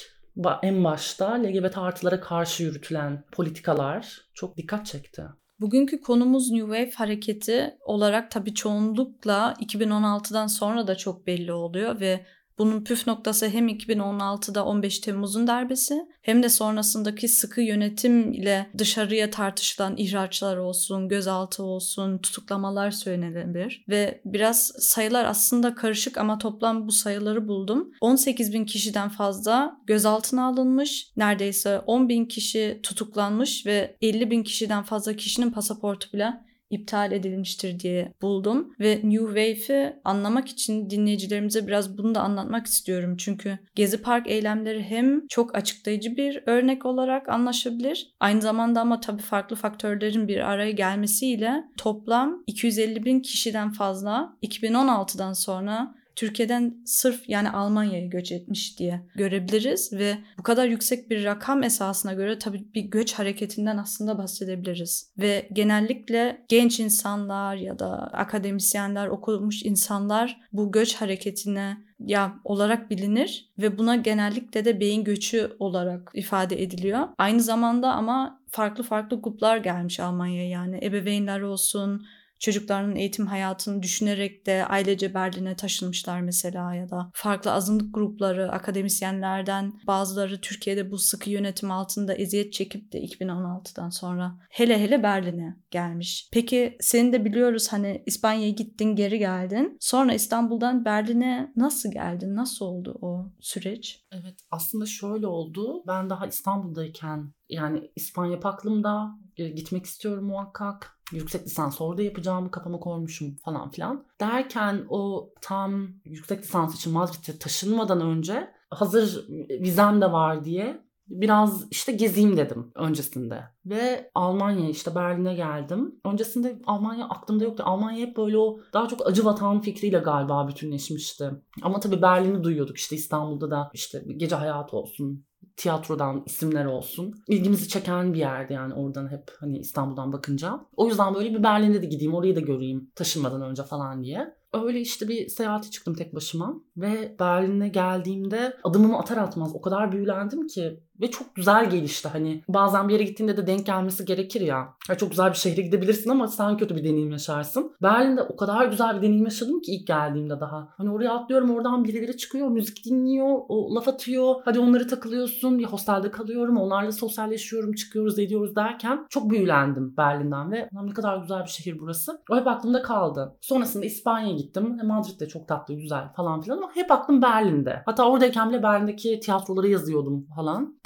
en başta LGBT artılara karşı yürütülen politikalar çok dikkat çekti. Bugünkü konumuz New Wave hareketi olarak tabii çoğunlukla 2016'dan sonra da çok belli oluyor ve bunun püf noktası hem 2016'da 15 Temmuz'un darbesi hem de sonrasındaki sıkı yönetim ile dışarıya tartışılan ihraçlar olsun, gözaltı olsun, tutuklamalar söylenebilir. Ve biraz sayılar aslında karışık ama toplam bu sayıları buldum. 18.000 kişiden fazla gözaltına alınmış, neredeyse 10.000 kişi tutuklanmış ve 50.000 kişiden fazla kişinin pasaportu bile iptal edilmiştir diye buldum. Ve New Wave'i anlamak için dinleyicilerimize biraz bunu da anlatmak istiyorum. Çünkü Gezi Park eylemleri hem çok açıklayıcı bir örnek olarak anlaşılabilir. Aynı zamanda ama tabii farklı faktörlerin bir araya gelmesiyle toplam 250.000 kişiden fazla 2016'dan sonra Türkiye'den sırf yani Almanya'ya göç etmiş diye görebiliriz ve bu kadar yüksek bir rakam esasına göre tabii bir göç hareketinden aslında bahsedebiliriz. Ve genellikle genç insanlar ya da akademisyenler, okumuş insanlar bu göç hareketine olarak bilinir ve buna genellikle de beyin göçü olarak ifade ediliyor. Aynı zamanda ama farklı gruplar gelmiş Almanya'ya, yani ebeveynler olsun, çocuklarının eğitim hayatını düşünerek de ailece Berlin'e taşınmışlar mesela ya da farklı azınlık grupları, akademisyenlerden bazıları Türkiye'de bu sıkı yönetim altında eziyet çekip de 2016'dan sonra hele Berlin'e gelmiş. Peki seni de biliyoruz, hani İspanya'ya gittin, geri geldin. Sonra İstanbul'dan Berlin'e nasıl geldin? Nasıl oldu o süreç? Evet, aslında şöyle oldu. Ben daha İstanbul'dayken yani İspanya aklımda, gitmek istiyorum muhakkak. Yüksek lisans orada yapacağımı kafama koymuşum falan filan. Derken o tam yüksek lisans için Madrid'e taşınmadan önce hazır vizem de var diye biraz işte gezeyim dedim öncesinde. Ve Almanya'ya işte Berlin'e geldim. Öncesinde Almanya aklımda yoktu. Almanya hep böyle o daha çok acı vatan fikriyle galiba bütünleşmişti. Ama tabii Berlin'i duyuyorduk, işte İstanbul'da da işte gece hayatı olsun, tiyatrodan isimler olsun. İlgimizi çeken bir yerdi yani oradan hep hani İstanbul'dan bakınca. O yüzden böyle bir Berlin'de de gideyim, orayı da göreyim taşınmadan önce falan diye. Öyle işte bir seyahate çıktım tek başıma ve Berlin'e geldiğimde adımımı atar atmaz o kadar büyülendim ki ve çok güzel gelişti. Hani bazen bir yere gittiğinde de denk gelmesi gerekir ya. Çok güzel bir şehre gidebilirsin ama sen kötü bir deneyim yaşarsın. Berlin'de o kadar güzel bir deneyim yaşadım ki ilk geldiğimde daha. Hani oraya atlıyorum, oradan birileri çıkıyor, müzik dinliyor, o laf atıyor. Hadi onları takılıyorsun, bir hostelde kalıyorum, onlarla sosyalleşiyorum, çıkıyoruz, ediyoruz derken çok büyülendim Berlin'den ve ne kadar güzel bir şehir burası. O hep aklımda kaldı. Sonrasında İspanya'ya gittim. Madrid de çok tatlı, güzel falan filan ama hep aklım Berlin'de. Hatta oradayken bile Berlin'deki tiyatroları yazıyordum falan.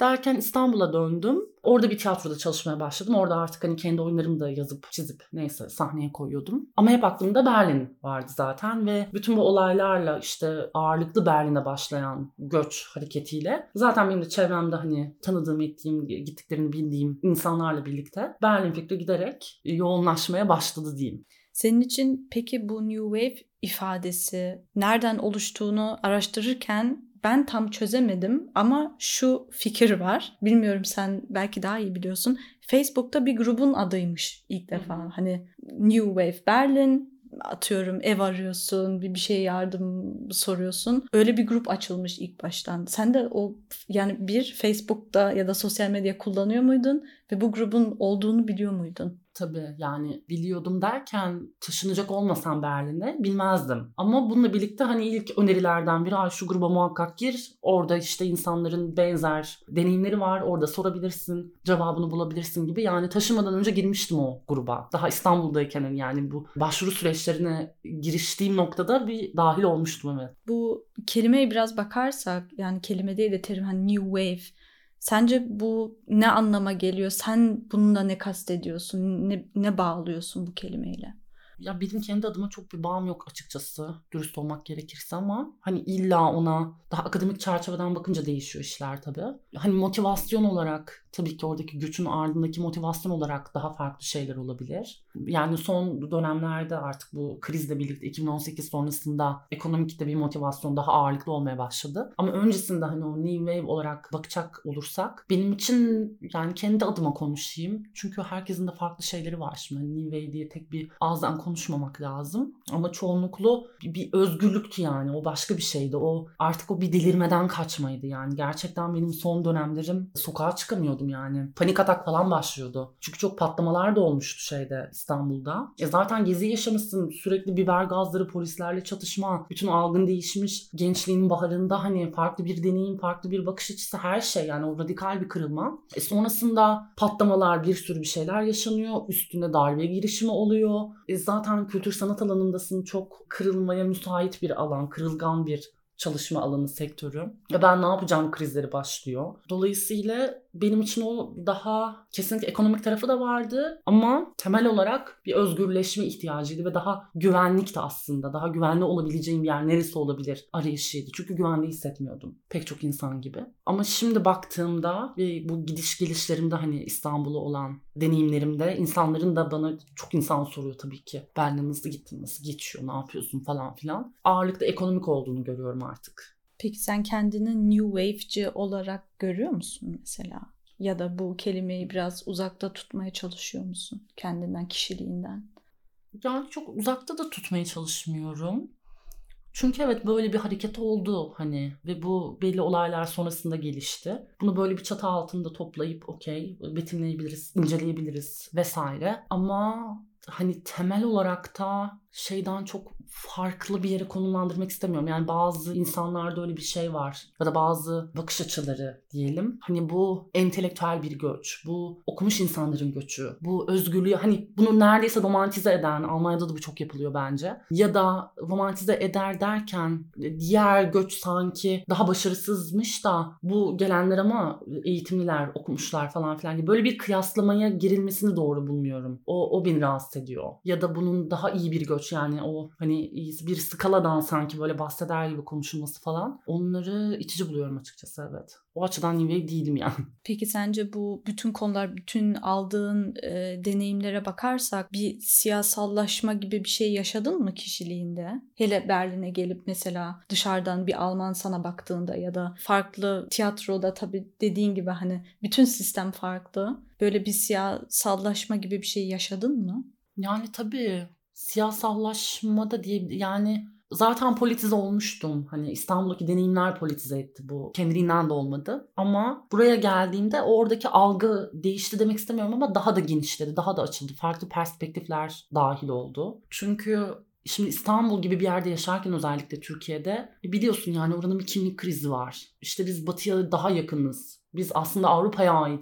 derken İstanbul'a döndüm. Orada bir tiyatroda çalışmaya başladım. Orada artık hani kendi oyunlarımı da yazıp çizip neyse sahneye koyuyordum. Ama hep aklımda Berlin vardı zaten ve bütün bu olaylarla işte ağırlıklı Berlin'e başlayan göç hareketiyle zaten benim de çevremde hani tanıdığım, ettiğim, gittiklerini bildiğim insanlarla birlikte Berlin fikri giderek yoğunlaşmaya başladı diyeyim. Senin için peki bu New Wave ifadesi nereden oluştuğunu araştırırken ben tam çözemedim ama şu fikir var. Bilmiyorum, sen belki daha iyi biliyorsun. Facebook'ta bir grubun adıymış ilk defa. Hani New Wave Berlin, atıyorum ev arıyorsun, bir şeye yardım soruyorsun. Öyle bir grup açılmış ilk baştan. Sen de o yani bir Facebook'ta ya da sosyal medya kullanıyor muydun ve bu grubun olduğunu biliyor muydun? Tabii yani biliyordum derken taşınacak olmasam Berlin'e bilmezdim. Ama bununla birlikte hani ilk önerilerden biri şu gruba muhakkak gir. Orada işte insanların benzer deneyimleri var. Orada sorabilirsin, cevabını bulabilirsin gibi. Yani taşımadan önce girmiştim o gruba. Daha İstanbul'dayken yani bu başvuru süreçlerine giriştiğim noktada bir dahil olmuştum, evet. Bu kelimeye biraz bakarsak, yani kelime değil de terim, hani New Wave. Sence bu ne anlama geliyor? Sen bununla ne kastediyorsun? Ne bağlıyorsun bu kelimeyle? Ya benim kendi adıma çok bir bağım yok açıkçası, dürüst olmak gerekirse, ama hani illa ona daha akademik çerçeveden bakınca değişiyor işler tabii. Hani motivasyon olarak tabii ki oradaki göçün ardındaki motivasyon olarak daha farklı şeyler olabilir. Yani son dönemlerde artık bu krizle birlikte 2018 sonrasında ekonomikte bir motivasyon daha ağırlıklı olmaya başladı. Ama öncesinde hani o New Wave olarak bakacak olursak benim için, yani kendi adıma konuşayım. Çünkü herkesin de farklı şeyleri var şimdi. Hani New Wave diye tek bir ağızdan konuşmamak lazım. Ama çoğunluklu bir özgürlüktü yani. O başka bir şeydi. O artık o bir delirmeden kaçmaydı yani. Gerçekten benim son dönemlerim sokağa çıkamıyordum yani. Panik atak falan başlıyordu. Çünkü çok patlamalar da olmuştu şeyde, İstanbul'da. Zaten gezi yaşamışsın. Sürekli biber gazları, polislerle çatışma. Bütün algın değişmiş. Gençliğinin baharında hani farklı bir deneyim, farklı bir bakış açısı, her şey yani o radikal bir kırılma. Sonrasında patlamalar, bir sürü bir şeyler yaşanıyor. Üstüne darbe girişimi oluyor. Zaten kültür sanat alanındasın. Çok kırılmaya müsait bir alan, kırılgan bir çalışma alanı, sektörü. Ben ne yapacağım krizleri başlıyor. Dolayısıyla benim için o daha kesinlikle ekonomik tarafı da vardı ama temel olarak bir özgürleşme ihtiyacıydı ve daha güvenlikti aslında. Daha güvenli olabileceğim bir yer neresi olabilir arayışıydı. Çünkü güvenli hissetmiyordum pek çok insan gibi. Ama şimdi baktığımda ve bu gidiş gelişlerimde hani İstanbul'a olan deneyimlerimde insanların da bana, çok insan soruyor tabii ki. Berlin'e nasıl gittin, nasıl geçiyor, ne yapıyorsun falan filan. Ağırlıkta ekonomik olduğunu görüyorum artık. Peki sen kendini New Wave'ci olarak görüyor musun mesela? Ya da bu kelimeyi biraz uzakta tutmaya çalışıyor musun kendinden, kişiliğinden? Yani çok uzakta da tutmaya çalışmıyorum. Çünkü evet, böyle bir hareket oldu hani ve bu belli olaylar sonrasında gelişti. Bunu böyle bir çatı altında toplayıp okey betimleyebiliriz, inceleyebiliriz vesaire. Ama hani temel olarak da şeyden çok farklı bir yere konumlandırmak istemiyorum. Yani bazı insanlarda öyle bir şey var ya da bazı bakış açıları diyelim. Hani bu entelektüel bir göç, bu okumuş insanların göçü, bu özgürlüğü, hani bunu neredeyse romantize eden, Almanya'da da bu çok yapılıyor bence. Ya da romantize eder derken diğer göç sanki daha başarısızmış da bu gelenler ama eğitimliler, okumuşlar falan filan gibi böyle bir kıyaslamaya girilmesini doğru bulmuyorum. O beni rahatsız ediyor. Ya da bunun daha iyi bir göç, yani o hani bir skaladan sanki böyle bahseder gibi konuşulması falan, onları itici buluyorum açıkçası, evet. O açıdan New Wave değilim yani. Peki sence bu bütün konular, bütün aldığın deneyimlere bakarsak bir siyasallaşma gibi bir şey yaşadın mı kişiliğinde? Hele Berlin'e gelip mesela dışarıdan bir Alman sana baktığında ya da farklı tiyatroda, tabii dediğin gibi hani bütün sistem farklı. Böyle bir siyasallaşma gibi bir şey yaşadın mı? Yani tabii siyasallaşma da diye, yani zaten politize olmuştum. Hani İstanbul'daki deneyimler politize etti bu. Kendiliğinden de olmadı. Ama buraya geldiğimde oradaki algı değişti demek istemiyorum ama daha da genişledi, daha da açıldı. Farklı perspektifler dahil oldu. Çünkü şimdi İstanbul gibi bir yerde yaşarken, özellikle Türkiye'de biliyorsun yani oranın bir kimlik krizi var. İşte biz batıya daha yakınız. Biz aslında Avrupa'ya aitiz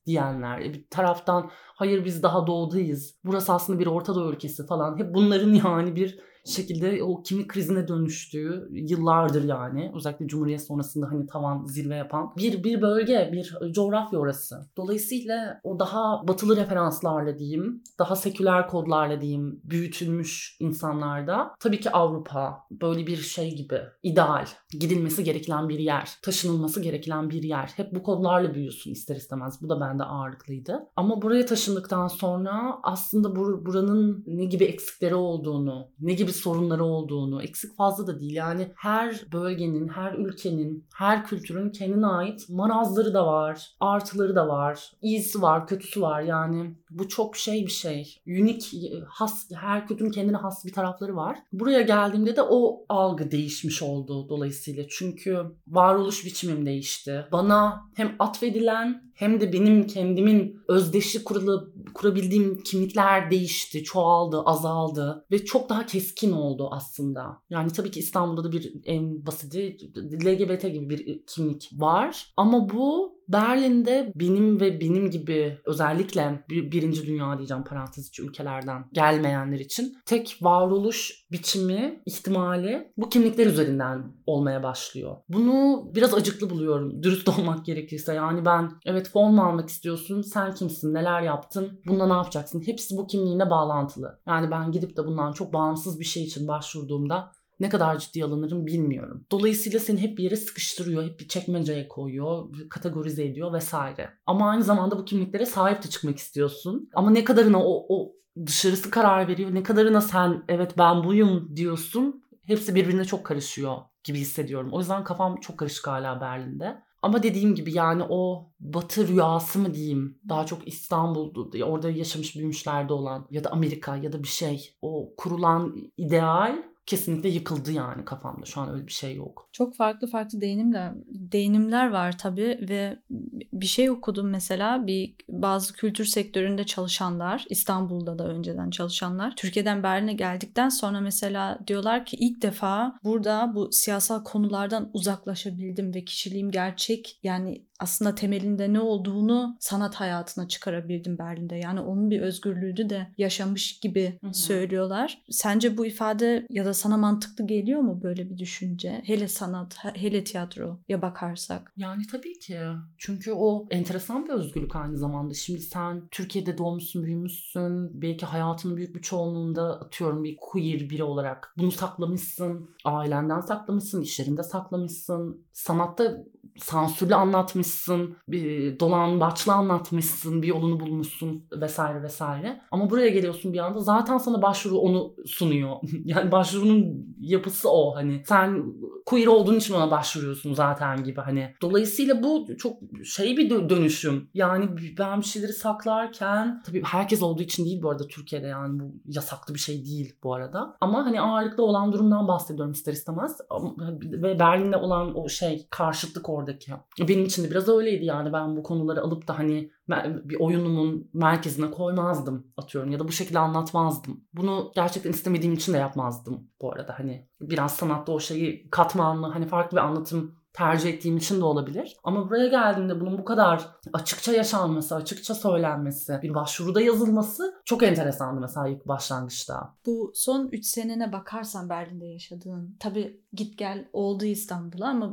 diyenler, bir taraftan hayır biz daha doğudayız, burası aslında bir Orta Doğu ülkesi falan. Hep bunların yani bir şekilde o kimlik krizine dönüştüğü yıllardır yani. Özellikle Cumhuriyet sonrasında hani tavan zirve yapan bir bölge, bir coğrafya orası. Dolayısıyla o daha batılı referanslarla diyeyim, daha seküler kodlarla diyeyim büyütülmüş insanlarda tabii ki Avrupa böyle bir şey gibi ideal, gidilmesi gereken bir yer, taşınılması gereken bir yer. Hep bu kodlarla büyüyorsun ister istemez. Bu da bende ağırlıklıydı. Ama buraya taşındıktan sonra aslında buranın ne gibi eksikleri olduğunu, ne gibi sorunları olduğunu, eksik fazla da değil. Yani her bölgenin, her ülkenin, her kültürün kendine ait marazları da var, artıları da var, iyisi var, kötüsü var. Yani bu çok bir şey. Unik, has, her kültürün kendine has bir tarafları var. Buraya geldiğimde de o algı değişmiş oldu dolayısıyla. Çünkü varoluş biçimim değişti. Bana hem atfedilen hem de benim kendimin özdeşi kurabildiğim kimlikler değişti, çoğaldı, azaldı ve çok daha keskin oldu aslında. Yani tabii ki İstanbul'da da bir en basiti LGBT gibi bir kimlik var ama bu Berlin'de benim gibi özellikle birinci dünya diyeceğim parantez içi ülkelerden gelmeyenler için tek varoluş biçimi, ihtimali bu kimlikler üzerinden olmaya başlıyor. Bunu biraz acıklı buluyorum dürüst olmak gerekirse. Yani ben evet fon mu almak istiyorsun, sen kimsin, neler yaptın, bununla ne yapacaksın? Hepsi bu kimliğine bağlantılı. Yani ben gidip de bundan çok bağımsız bir şey için başvurduğumda ne kadar ciddiye alınırım bilmiyorum. Dolayısıyla seni hep bir yere sıkıştırıyor, hep bir çekmeceye koyuyor, kategorize ediyor vesaire. Ama aynı zamanda bu kimliklere sahip de çıkmak istiyorsun. Ama ne kadarına o dışarısı karar veriyor, ne kadarına sen evet ben buyum diyorsun. Hepsi birbirine çok karışıyor gibi hissediyorum. O yüzden kafam çok karışık hala Berlin'de. Ama dediğim gibi yani o batı rüyası mı diyeyim, daha çok İstanbul'da orada yaşamış büyümüşlerde olan ya da Amerika ya da bir şey, o kurulan ideal kesinlikle yıkıldı yani kafamda. Şu an öyle bir şey yok. Çok farklı değinimler var tabii ve bir şey okudum mesela bazı kültür sektöründe çalışanlar, İstanbul'da da önceden çalışanlar Türkiye'den Berlin'e geldikten sonra mesela diyorlar ki ilk defa burada bu siyasal konulardan uzaklaşabildim ve kişiliğim gerçek, yani aslında temelinde ne olduğunu sanat hayatına çıkarabildim Berlin'de. Yani onun bir özgürlüğünü de yaşamış gibi söylüyorlar. Sence bu ifade ya da sana mantıklı geliyor mu böyle bir düşünce? Hele sanat, hele tiyatroya bakarsak. Yani tabii ki. Çünkü o enteresan bir özgürlük aynı zamanda. Şimdi sen Türkiye'de doğmuşsun, büyümüşsün. Belki hayatının büyük bir çoğunluğunda atıyorum bir queer biri olarak bunu saklamışsın. Ailenden saklamışsın, iş yerinde saklamışsın. Sanatta sansürlü anlatmışsın, bir dolambaçlı anlatmışsın, bir yolunu bulmuşsun vesaire vesaire. Ama buraya geliyorsun bir anda zaten sana başvuru onu sunuyor. Yani başvurunun yapısı o hani. Sen queer olduğun için ona başvuruyorsun zaten gibi hani. Dolayısıyla bu çok bir dönüşüm. Yani ben bir şeyleri saklarken tabii herkes olduğu için değil bu arada Türkiye'de, yani bu yasaklı bir şey değil bu arada. Ama hani ağırlıklı olan durumdan bahsediyorum ister istemez. Ve Berlin'de olan o karşıtlık oradaki. Benim için de biraz öyleydi yani, ben bu konuları alıp da hani bir oyunumun merkezine koymazdım atıyorum ya da bu şekilde anlatmazdım. Bunu gerçekten istemediğim için de yapmazdım bu arada, hani biraz sanatta o şeyi katmanlı hani farklı bir anlatım tercih ettiğim için de olabilir. Ama buraya geldiğimde bunun bu kadar açıkça yaşanması, açıkça söylenmesi, bir başvuruda yazılması çok enteresandı mesela ilk başlangıçta. Bu son 3 senene bakarsan Berlin'de yaşadığın, tabii git gel oldu İstanbul'a ama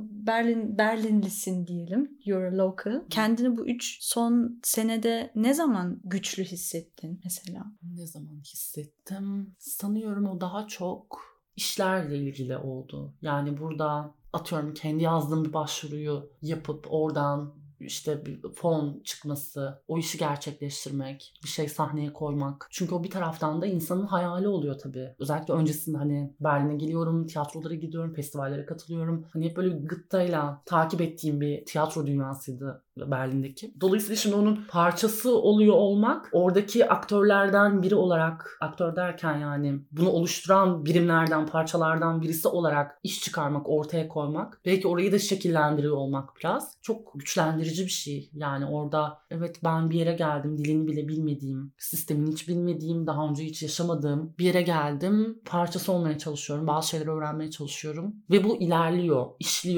Berlinlisin diyelim, you're a local. Kendini bu 3 son senede ne zaman güçlü hissettin mesela? Ne zaman hissettim? Sanıyorum o daha çok işlerle ilgili oldu. Yani burada atıyorum kendi yazdığım bir başvuruyu yapıp oradan işte bir fon çıkması, o işi gerçekleştirmek, bir şey sahneye koymak. Çünkü o bir taraftan da insanın hayali oluyor tabii. Özellikle öncesinde hani Berlin'e geliyorum, tiyatrolara gidiyorum, festivallere katılıyorum. Hani hep böyle gıttayla takip ettiğim bir tiyatro dünyasıydı Berlin'deki. Dolayısıyla şimdi onun parçası oluyor olmak, oradaki aktörlerden biri olarak, aktör derken yani bunu oluşturan birimlerden, parçalardan birisi olarak iş çıkarmak, ortaya koymak, belki orayı da şekillendiriyor olmak biraz çok güçlendirici bir şey. Yani orada evet ben bir yere geldim, dilini bile bilmediğim, sistemini hiç bilmediğim, daha önce hiç yaşamadığım bir yere geldim. Parçası olmaya çalışıyorum, bazı şeyleri öğrenmeye çalışıyorum ve bu ilerliyor, işliyor.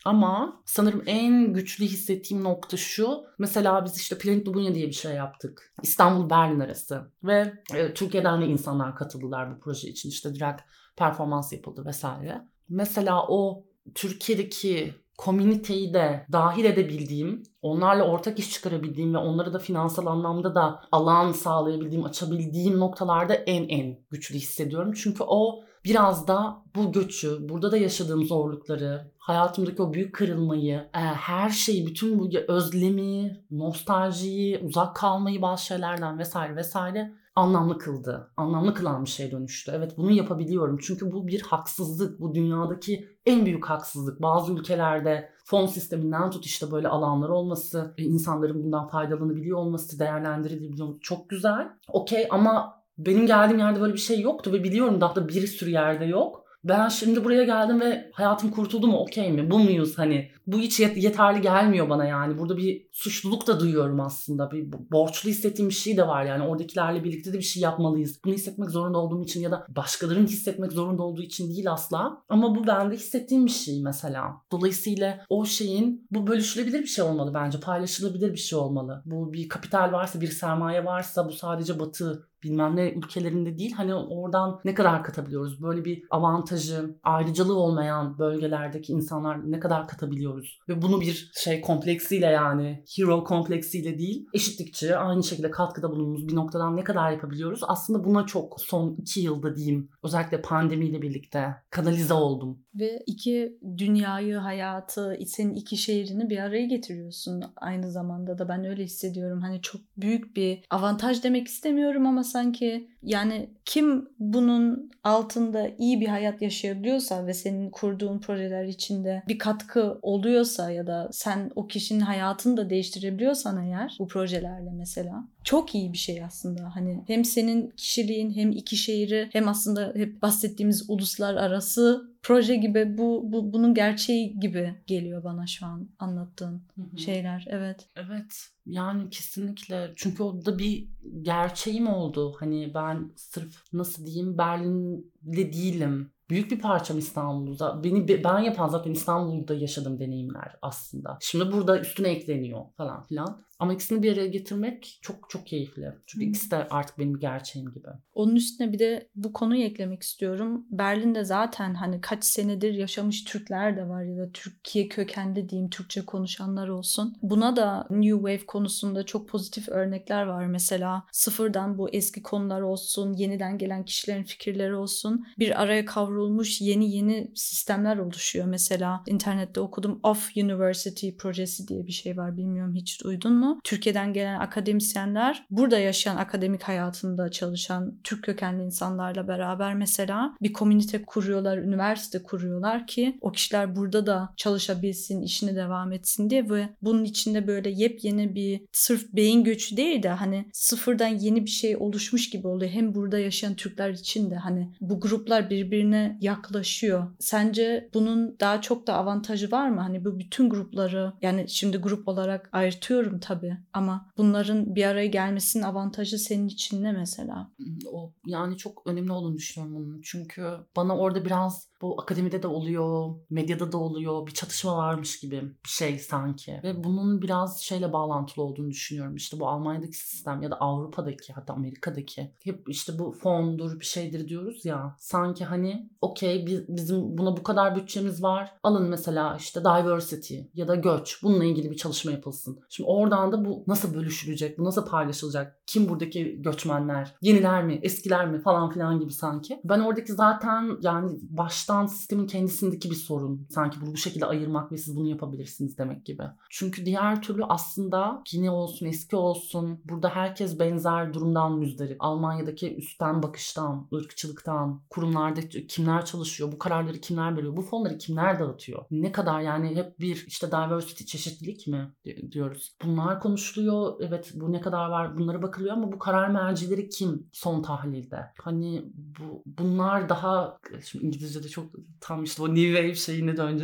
Ama sanırım en güçlü hissettiğim nokta şu. Mesela biz işte Planet Lubunya diye bir şey yaptık. İstanbul-Berlin arası. Ve Türkiye'den de insanlar katıldılar bu proje için. İşte direkt performans yapıldı vesaire. Mesela o Türkiye'deki komüniteyi de dahil edebildiğim, onlarla ortak iş çıkarabildiğim ve onlara da finansal anlamda da alan sağlayabildiğim, açabildiğim noktalarda en güçlü hissediyorum. Çünkü o biraz da bu göçü, burada da yaşadığım zorlukları, hayatımdaki o büyük kırılmayı, her şeyi, bütün bu özlemi, nostaljiyi, uzak kalmayı bazı şeylerden vesaire anlamlı kıldı. Anlamlı kılan bir şeye dönüştü. Evet, bunu yapabiliyorum. Çünkü bu bir haksızlık. Bu dünyadaki en büyük haksızlık. Bazı ülkelerde fon sisteminden tut işte böyle alanlar olması, insanların bundan faydalanabiliyor olması, değerlendirilebiliyor olması çok güzel. Okey, ama benim geldiğim yerde böyle bir şey yoktu ve biliyorum daha da bir sürü yerde yok. Ben şimdi buraya geldim ve hayatım kurtuldu mu, okey mi? Bu muyuz hani? Bu hiç yeterli gelmiyor bana yani. Burada bir suçluluk da duyuyorum aslında. Bir borçlu hissettiğim bir şey de var yani. Oradakilerle birlikte de bir şey yapmalıyız. Bunu hissetmek zorunda olduğum için ya da başkalarının hissetmek zorunda olduğu için değil asla. Ama bu bende hissettiğim bir şey mesela. Dolayısıyla o şeyin, bu bölüşülebilir bir şey olmalı bence. Paylaşılabilir bir şey olmalı. Bu bir kapital varsa, bir sermaye varsa bu sadece Batı bilmem ne ülkelerinde değil. Hani oradan ne kadar katabiliyoruz? Böyle bir avantajı, ayrıcalığı olmayan bölgelerdeki insanlar ne kadar katabiliyoruz? Ve bunu bir şey kompleksiyle, yani hero kompleksiyle değil, eşitlikçi, aynı şekilde katkıda bulunduğumuz bir noktadan ne kadar yapabiliyoruz? Aslında buna çok son 2 yılda diyeyim, özellikle pandemiyle birlikte kanalize oldum. Ve iki dünyayı, hayatı, senin iki şehrini bir araya getiriyorsun aynı zamanda da. Ben öyle hissediyorum. Hani çok büyük bir avantaj demek istemiyorum ama sanki yani kim bunun altında iyi bir hayat yaşayabiliyorsa ve senin kurduğun projeler içinde bir katkı oluyorsa ya da sen o kişinin hayatını da değiştirebiliyorsan eğer bu projelerle mesela, çok iyi bir şey aslında. Hani hem senin kişiliğin hem iki şehri hem aslında hep bahsettiğimiz uluslararası proje gibi bunun gerçeği gibi geliyor bana şu an anlattığın şeyler. Evet. Evet. Yani kesinlikle. Çünkü o da bir gerçeğim oldu. Hani ben sırf nasıl diyeyim Berlin'de değilim. Büyük bir parçam İstanbul'da. Ben yapan zaten İstanbul'da yaşadığım deneyimler aslında. Şimdi burada üstüne ekleniyor falan filan. Ama ikisini bir araya getirmek çok çok keyifli. Çünkü ikisi de artık benim gerçeğim gibi. Onun üstüne bir de bu konuyu eklemek istiyorum. Berlin'de zaten hani kaç senedir yaşamış Türkler de var ya da Türkiye kökenli diyeyim, Türkçe konuşanlar olsun. Buna da New Wave konusunda çok pozitif örnekler var. Mesela sıfırdan bu eski konular olsun, yeniden gelen kişilerin fikirleri olsun, bir araya kavrulmuş yeni sistemler oluşuyor. Mesela internette okudum, Off University projesi diye bir şey var. Bilmiyorum, hiç duydun mu? Türkiye'den gelen akademisyenler burada yaşayan, akademik hayatında çalışan Türk kökenli insanlarla beraber mesela bir komünite kuruyorlar, üniversite kuruyorlar ki o kişiler burada da çalışabilsin, işine devam etsin diye. Ve bunun içinde böyle yepyeni bir, sırf beyin göçü değil de hani sıfırdan yeni bir şey oluşmuş gibi oluyor. Hem burada yaşayan Türkler için de hani bu gruplar birbirine yaklaşıyor. Sence bunun daha çok da avantajı var mı? Hani bu bütün grupları, yani şimdi grup olarak ayırtıyorum tabii ama bunların bir araya gelmesinin avantajı senin için ne mesela? O yani çok önemli olduğunu düşünüyorum bunun. Çünkü bana orada biraz bu akademide de oluyor, medyada da oluyor, bir çatışma varmış gibi bir şey sanki. Ve bunun biraz şeyle bağlantılı olduğunu düşünüyorum. İşte bu Almanya'daki sistem ya da Avrupa'daki, hatta Amerika'daki hep işte bu fondur bir şeydir diyoruz ya. Sanki hani okey, bizim buna bu kadar bütçemiz var. Alın mesela işte diversity ya da göç. Bununla ilgili bir çalışma yapılsın. Şimdi oradan da bu nasıl bölüşülecek? Bu nasıl paylaşılacak? Kim buradaki göçmenler? Yeniler mi? Eskiler mi? Falan filan gibi sanki. Ben oradaki zaten yani baştan sistemin kendisindeki bir sorun. Sanki bu şekilde ayırmak ve siz bunu yapabilirsiniz demek gibi. Çünkü diğer türlü aslında yeni olsun, eski olsun, burada herkes benzer durumdan müzdarip. Almanya'daki üstten bakıştan, ırkçılıktan, kurumlarda kimler çalışıyor, bu kararları kimler veriyor, bu fonları kimler dağıtıyor? Ne kadar yani hep bir işte diversity, çeşitlilik mi diyoruz. Bunlar konuşuluyor. Evet, bu ne kadar var, bunlara bakılıyor ama bu karar mercileri kim son tahlilde? Hani bunlar daha, şimdi İngilizce'de çok tam işte o New Wave şeyine döneceğiz.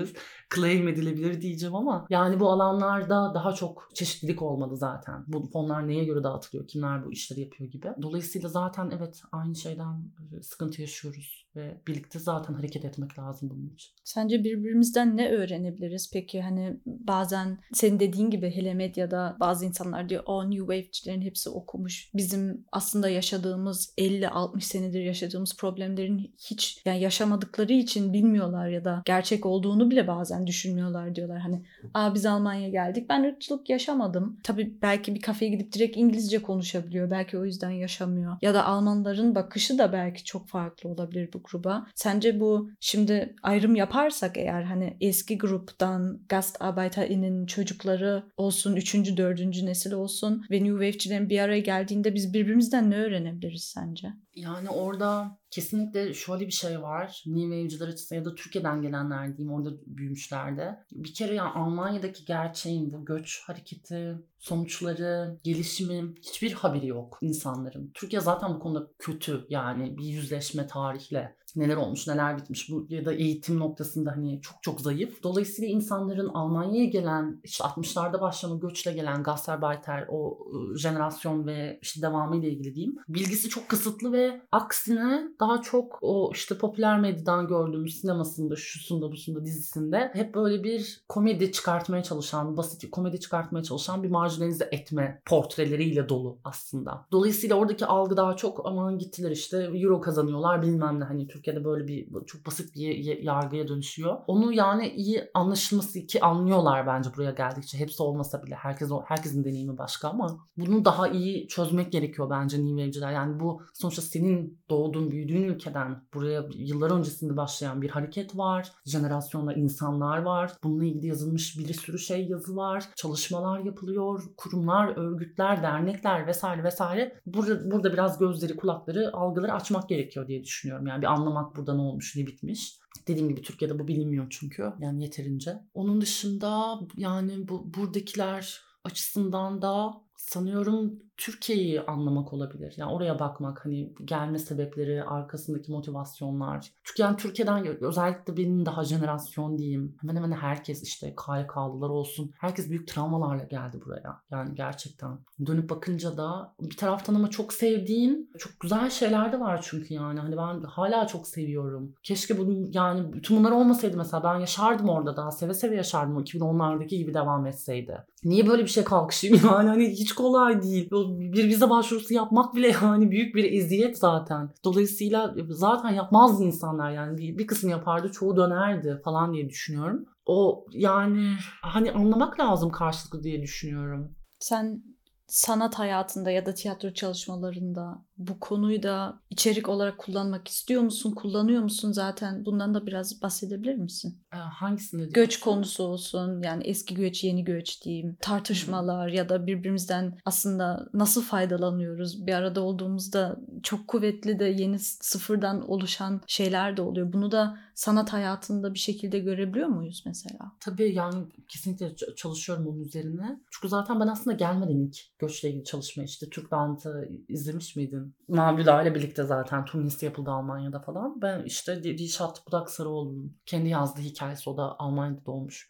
claim edilebilir diyeceğim ama yani bu alanlarda daha çok çeşitlilik olmalı zaten. Bu fonlar neye göre dağıtılıyor, kimler bu işleri yapıyor gibi. Dolayısıyla zaten evet aynı şeyden sıkıntı yaşıyoruz ve birlikte zaten hareket etmek lazım bunun için. Sence birbirimizden ne öğrenebiliriz? Peki hani bazen senin dediğin gibi hele medyada bazı insanlar diyor o New Wave'cilerin hepsi okumuş. Bizim aslında yaşadığımız 50-60 senedir yaşadığımız problemlerin hiç yani yaşamadıkları için bilmiyorlar ya da gerçek olduğunu bile bazen düşünmüyorlar diyorlar. Hani biz Almanya'ya geldik. Ben ırkçılık yaşamadım. Tabii belki bir kafeye gidip direkt İngilizce konuşabiliyor. Belki o yüzden yaşamıyor. Ya da Almanların bakışı da belki çok farklı olabilir bu gruba. Sence bu şimdi ayrım yaparsak eğer hani eski gruptan GastarbeiterInnen çocukları olsun, 3. 4. nesil olsun ve New Wave'cilerin bir araya geldiğinde biz birbirimizden ne öğrenebiliriz sence? Yani orada kesinlikle şöyle bir şey var. New Wave'ciler açısından ya da Türkiye'den gelenler diyeyim orada büyümüşlerde. Bir kere yani Almanya'daki gerçeğin bu göç hareketi, sonuçları, gelişimi hiçbir haberi yok insanların. Türkiye zaten bu konuda kötü yani bir yüzleşme tarihle. Neler olmuş, neler bitmiş bu ya da eğitim noktasında hani çok çok zayıf. Dolayısıyla insanların Almanya'ya gelen işte 60'larda başlayan göçle gelen Gastarbeiter o jenerasyon ve işte devamıyla ilgili diyeyim. Bilgisi çok kısıtlı ve aksine daha çok o işte popüler medyadan gördüğümüz sinemasında, şusunda, busunda, dizisinde hep böyle bir komedi çıkartmaya çalışan, basit komedi çıkartmaya çalışan bir marjinalize etme portreleriyle dolu aslında. Dolayısıyla oradaki algı daha çok aman gittiler işte euro kazanıyorlar bilmem ne hani Türkiye'de böyle bir çok basit bir yargıya dönüşüyor. Onu yani iyi anlaşılması ki anlıyorlar bence buraya geldikçe. Hepsi olmasa bile herkesin deneyimi başka ama bunu daha iyi çözmek gerekiyor bence New Wave'ciler. Yani bu sonuçta senin doğduğun, büyüdüğün ülkeden buraya yıllar öncesinde başlayan bir hareket var. Jenerasyonlar, insanlar var. Bununla ilgili yazılmış bir sürü yazı var. Çalışmalar yapılıyor. Kurumlar, örgütler, dernekler vesaire vesaire. Burada biraz gözleri, kulakları, algıları açmak gerekiyor diye düşünüyorum. Yani bir anlamak burada ne olmuş, ne bitmiş. Dediğim gibi Türkiye'de bu bilinmiyor çünkü. Yani yeterince. Onun dışında yani buradakiler açısından da sanıyorum Türkiye'yi anlamak olabilir. Yani oraya bakmak hani gelme sebepleri, arkasındaki motivasyonlar. Çünkü yani Türkiye'den özellikle benim daha jenerasyon diyeyim. Hemen hemen herkes işte KYK'lılar olsun. Herkes büyük travmalarla geldi buraya. Yani gerçekten. Dönüp bakınca da bir taraftan ama çok sevdiğim çok güzel şeyler de var çünkü yani. Hani ben hala çok seviyorum. Keşke yani bütün bunlar olmasaydı mesela ben yaşardım orada daha seve seve yaşardım o 2010'lardaki gibi devam etseydi. Niye böyle bir şey kalkışayım yani hani hiç kolay değil. Bir vize başvurusu yapmak bile yani büyük bir eziyet zaten. Dolayısıyla zaten yapmazdı insanlar yani bir kısım yapardı çoğu dönerdi falan diye düşünüyorum. O yani hani anlamak lazım karşılıklı diye düşünüyorum. Sen sanat hayatında ya da tiyatro çalışmalarında bu konuyu da içerik olarak kullanmak istiyor musun? Kullanıyor musun zaten? Bundan da biraz bahsedebilir misin? Hangisinde? Göç konusu olsun yani eski göç yeni göç diyeyim tartışmalar ya da birbirimizden aslında nasıl faydalanıyoruz bir arada olduğumuzda çok kuvvetli de yeni sıfırdan oluşan şeyler de oluyor. Bunu da sanat hayatında bir şekilde görebiliyor muyuz mesela? Tabii yani kesinlikle çalışıyorum onun üzerine. Çünkü zaten ben aslında gelmeden ilk göçle ilgili çalışmaya işte Türk Band'ı izlemiş miydin? Mavi ile birlikte zaten turnesi yapıldı Almanya'da falan. Ben işte Dilşat Budak-Sarıoğlu'nun kendi yazdığı hikayesi o da Almanya'da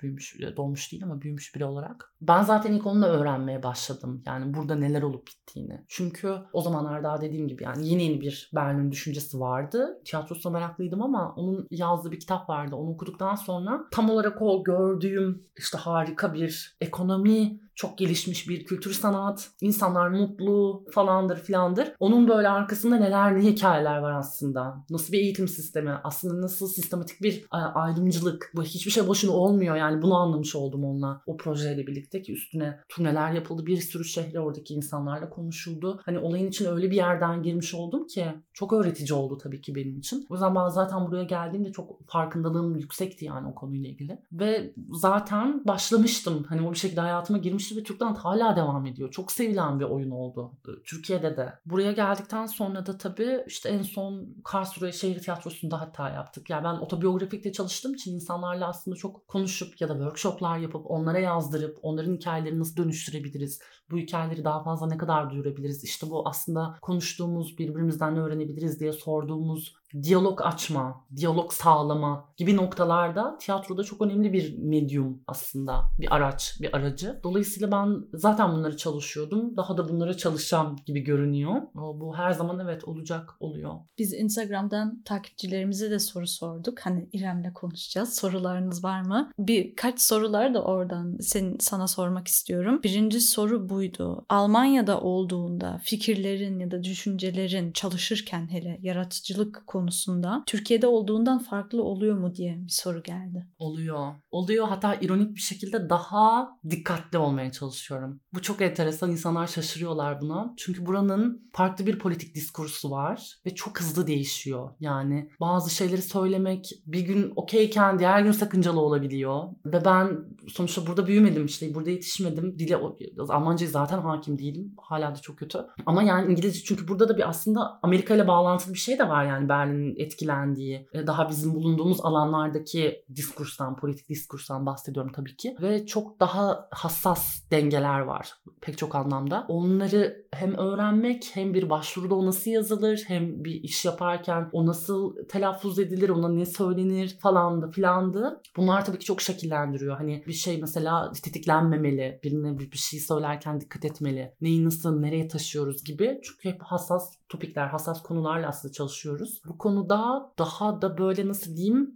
doğmuş değil ama büyümüş biri olarak. Ben zaten ilk onunla öğrenmeye başladım. Yani burada neler olup bittiğini. Çünkü o zamanlar daha dediğim gibi yani yeni bir Berlin düşüncesi vardı. Tiyatrosuna meraklıydım ama onun yazdığı bir kitap vardı. Onu okuduktan sonra tam olarak o gördüğüm işte harika bir ekonomi, çok gelişmiş bir kültür sanat, insanlar mutlu falandır filandır. Onun böyle arkasında ne hikayeler var aslında. Nasıl bir eğitim sistemi, aslında nasıl sistematik bir ayrımcılık. Bu hiçbir şey boşuna olmuyor yani bunu anlamış oldum onunla. O projeyle birlikte ki üstüne turneler yapıldı. Bir sürü şehre oradaki insanlarla konuşuldu. Hani olayın içine öyle bir yerden girmiş oldum ki çok öğretici oldu tabii ki benim için. O yüzden ben zaten buraya geldiğimde çok farkındalığım yüksekti yani o konuyla ilgili. Ve zaten başlamıştım. Hani o bir şekilde hayatıma girmişti ve Türkland hala devam ediyor. Çok sevilen bir oyun oldu. Türkiye'de de. Buraya geldikten sonra da tabii işte en son Karlsruhe Şehir Tiyatrosu'nda hatta yaptık. Yani ben otobiyografikte çalıştığım için insanlarla aslında çok konuşup ya da workshoplar yapıp onlara yazdırıp onların hikayelerini nasıl dönüştürebiliriz? Bu hikayeleri daha fazla ne kadar duyurabiliriz? İşte bu aslında konuştuğumuz, birbirimizden ne öğrenebiliriz diye sorduğumuz diyalog açma, diyalog sağlama gibi noktalarda tiyatroda çok önemli bir medyum aslında. Bir araç, bir aracı. Dolayısıyla ben zaten bunları çalışıyordum. Daha da bunlara çalışacağım gibi görünüyor. Bu her zaman evet olacak, oluyor. Biz Instagram'dan takipçilerimize de soru sorduk. Hani İrem'le konuşacağız. Sorularınız var mı? Birkaç sorular da oradan sana sormak istiyorum. Birinci soru buydu. Almanya'da olduğunda fikirlerin ya da düşüncelerin çalışırken hele yaratıcılık konusunda Türkiye'de olduğundan farklı oluyor mu diye bir soru geldi. Oluyor. Oluyor. Hatta ironik bir şekilde daha dikkatli olmaya çalışıyorum. Bu çok enteresan. İnsanlar şaşırıyorlar buna. Çünkü buranın farklı bir politik diskursu var ve çok hızlı değişiyor. Yani bazı şeyleri söylemek bir gün okeyken diğer gün sakıncalı olabiliyor. Ve ben sonuçta burada büyümedim, işte burada yetişmedim. Almanca'ya zaten hakim değilim. Hala da çok kötü. Ama yani İngilizce, çünkü burada da bir aslında Amerika ile bağlantılı bir şey de var, yani Berlin'in etkilendiği. Daha bizim bulunduğumuz alanlardaki diskurstan, politik diskurstan bahsediyorum tabii ki. Ve çok daha hassas dengeler var pek çok anlamda. Onları hem öğrenmek, hem bir başvuruda o nasıl yazılır, hem bir iş yaparken o nasıl telaffuz edilir, ona ne söylenir falandı filandı. Bunlar tabii ki çok şekillendiriyor. Hani bir şey mesela tetiklenmemeli, birine bir şey söylerken dikkat etmeli. Neyi nasıl, nereye taşıyoruz gibi. Çünkü hep hassas topikler, hassas konularla aslında çalışıyoruz. Bu konuda daha da böyle nasıl diyeyim,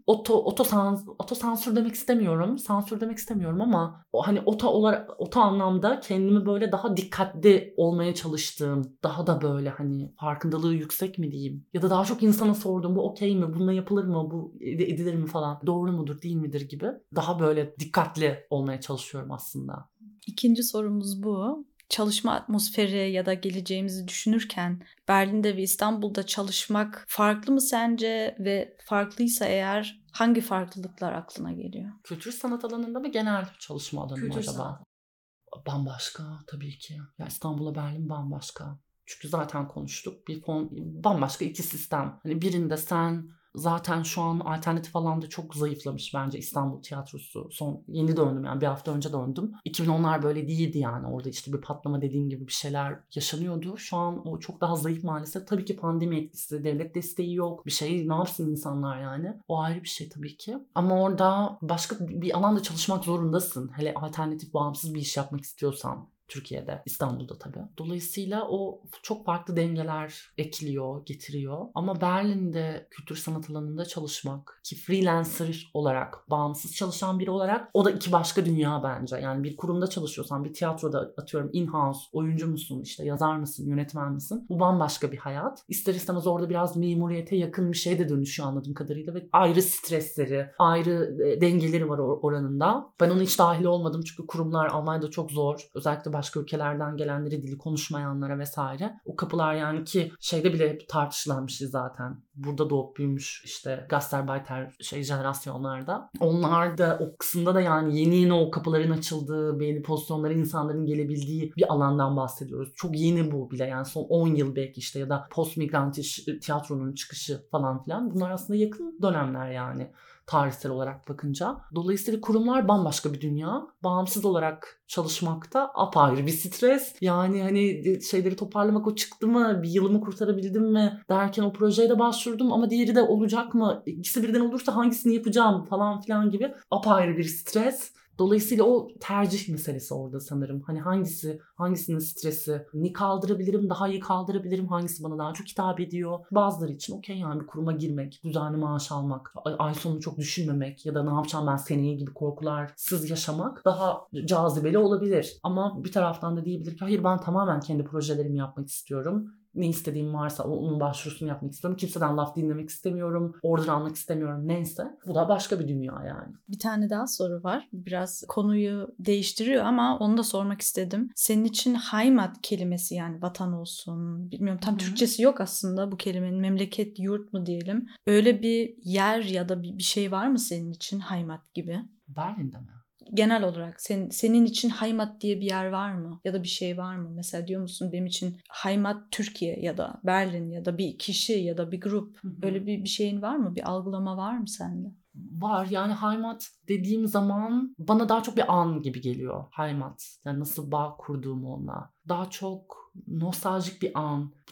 otosansür demek istemiyorum. Sansür demek istemiyorum ama hani oto anlamda kendimi böyle daha dikkatli olmaya çalıştığım, daha da böyle hani farkındalığı yüksek mi diyeyim, ya da daha çok insana sorduğum, bu okey mi, bununla yapılır mı, bu edilir mi falan, doğru mudur değil midir gibi daha böyle dikkatli olmaya çalışıyorum aslında. İkinci sorumuz bu. Çalışma atmosferi ya da geleceğimizi düşünürken Berlin'de ve İstanbul'da çalışmak farklı mı sence, ve farklıysa eğer hangi farklılıklar aklına geliyor? Kültür sanat alanında mı, genel çalışma alanı mı acaba? Sanat. Bambaşka tabii ki. Ya İstanbul'la Berlin bambaşka. Çünkü zaten konuştuk. Bambaşka iki sistem. Hani birinde sen zaten şu an alternatif alanda çok zayıflamış bence İstanbul tiyatrosu. Yeni döndüm, yani bir hafta önce döndüm. 2010'lar böyle değildi yani. Orada işte bir patlama dediğim gibi bir şeyler yaşanıyordu. Şu an o çok daha zayıf maalesef. Tabii ki pandemi etkisi, devlet desteği yok. Bir şey, ne yapsın insanlar yani. O ayrı bir şey tabii ki. Ama orada başka bir alanda çalışmak zorundasın. Hele alternatif, bağımsız bir iş yapmak istiyorsan. Türkiye'de, İstanbul'da tabii. Dolayısıyla o çok farklı dengeler ekliyor, getiriyor. Ama Berlin'de kültür sanat alanında çalışmak, ki freelancer olarak, bağımsız çalışan biri olarak, o da iki başka dünya bence. Yani bir kurumda çalışıyorsan, bir tiyatroda atıyorum in-house, oyuncu musun, işte yazar mısın, yönetmen misin? Bu bambaşka bir hayat. İster istemez orada biraz memuriyete yakın bir şeye de dönüşüyor anladığım kadarıyla ve ayrı stresleri, ayrı dengeleri var oranında. Ben ona hiç dahil olmadım çünkü kurumlar Almanya'da çok zor. Özellikle başka ülkelerden gelenleri, dili konuşmayanlara vesaire. O kapılar yani, ki şeyde bile hep tartışılan bir şey zaten. Burada doğup büyümüş işte Gastarbeiter jenerasyonlarda. Onlar da o kısımda da yani yeni o kapıların açıldığı, belli pozisyonlara insanların gelebildiği bir alandan bahsediyoruz. Çok yeni bu bile, yani son 10 yıl belki işte, ya da post migrantiş tiyatronun çıkışı falan filan. Bunlar aslında yakın dönemler yani, tarihsel olarak bakınca. Dolayısıyla kurumlar bambaşka bir dünya. Bağımsız olarak çalışmakta apayrı bir stres. Yani hani şeyleri toparlamak, o çıktı mı, bir yılımı kurtarabildim mi derken o projeye de başvurdum ama diğeri de olacak mı? İkisi birden olursa hangisini yapacağım falan filan gibi apayrı bir stres. Dolayısıyla o tercih meselesi orada sanırım. Hani hangisinin stresini kaldırabilirim, daha iyi kaldırabilirim, hangisi bana daha çok hitap ediyor. Bazıları için okey yani bir kuruma girmek, düzenli maaş almak, ay sonunu çok düşünmemek ya da ne yapacağım ben seneye gibi korkularsız yaşamak daha cazibeli olabilir. Ama bir taraftan da diyebilir ki hayır, ben tamamen kendi projelerimi yapmak istiyorum. Ne istediğim varsa onun başvurusunu yapmak istiyorum. Kimseden laf dinlemek istemiyorum. Order almak istemiyorum. Neyse. Bu da başka bir dünya yani. Bir tane daha soru var. Biraz konuyu değiştiriyor ama onu da sormak istedim. Senin için Heimat kelimesi, yani vatan olsun, bilmiyorum tam Türkçesi yok aslında bu kelimenin. Memleket, yurt mu diyelim. Öyle bir yer ya da bir şey var mı senin için Heimat gibi? Berlin'de mi? Genel olarak senin için Heimat diye bir yer var mı? Ya da bir şey var mı? Mesela diyor musun benim için Heimat Türkiye ya da Berlin ya da bir kişi ya da bir grup. Öyle bir şeyin var mı? Bir algılama var mı sende? Var yani, Heimat dediğim zaman bana daha çok bir an gibi geliyor. Heimat, yani nasıl bağ kurduğum onunla. Daha çok nostaljik bir an.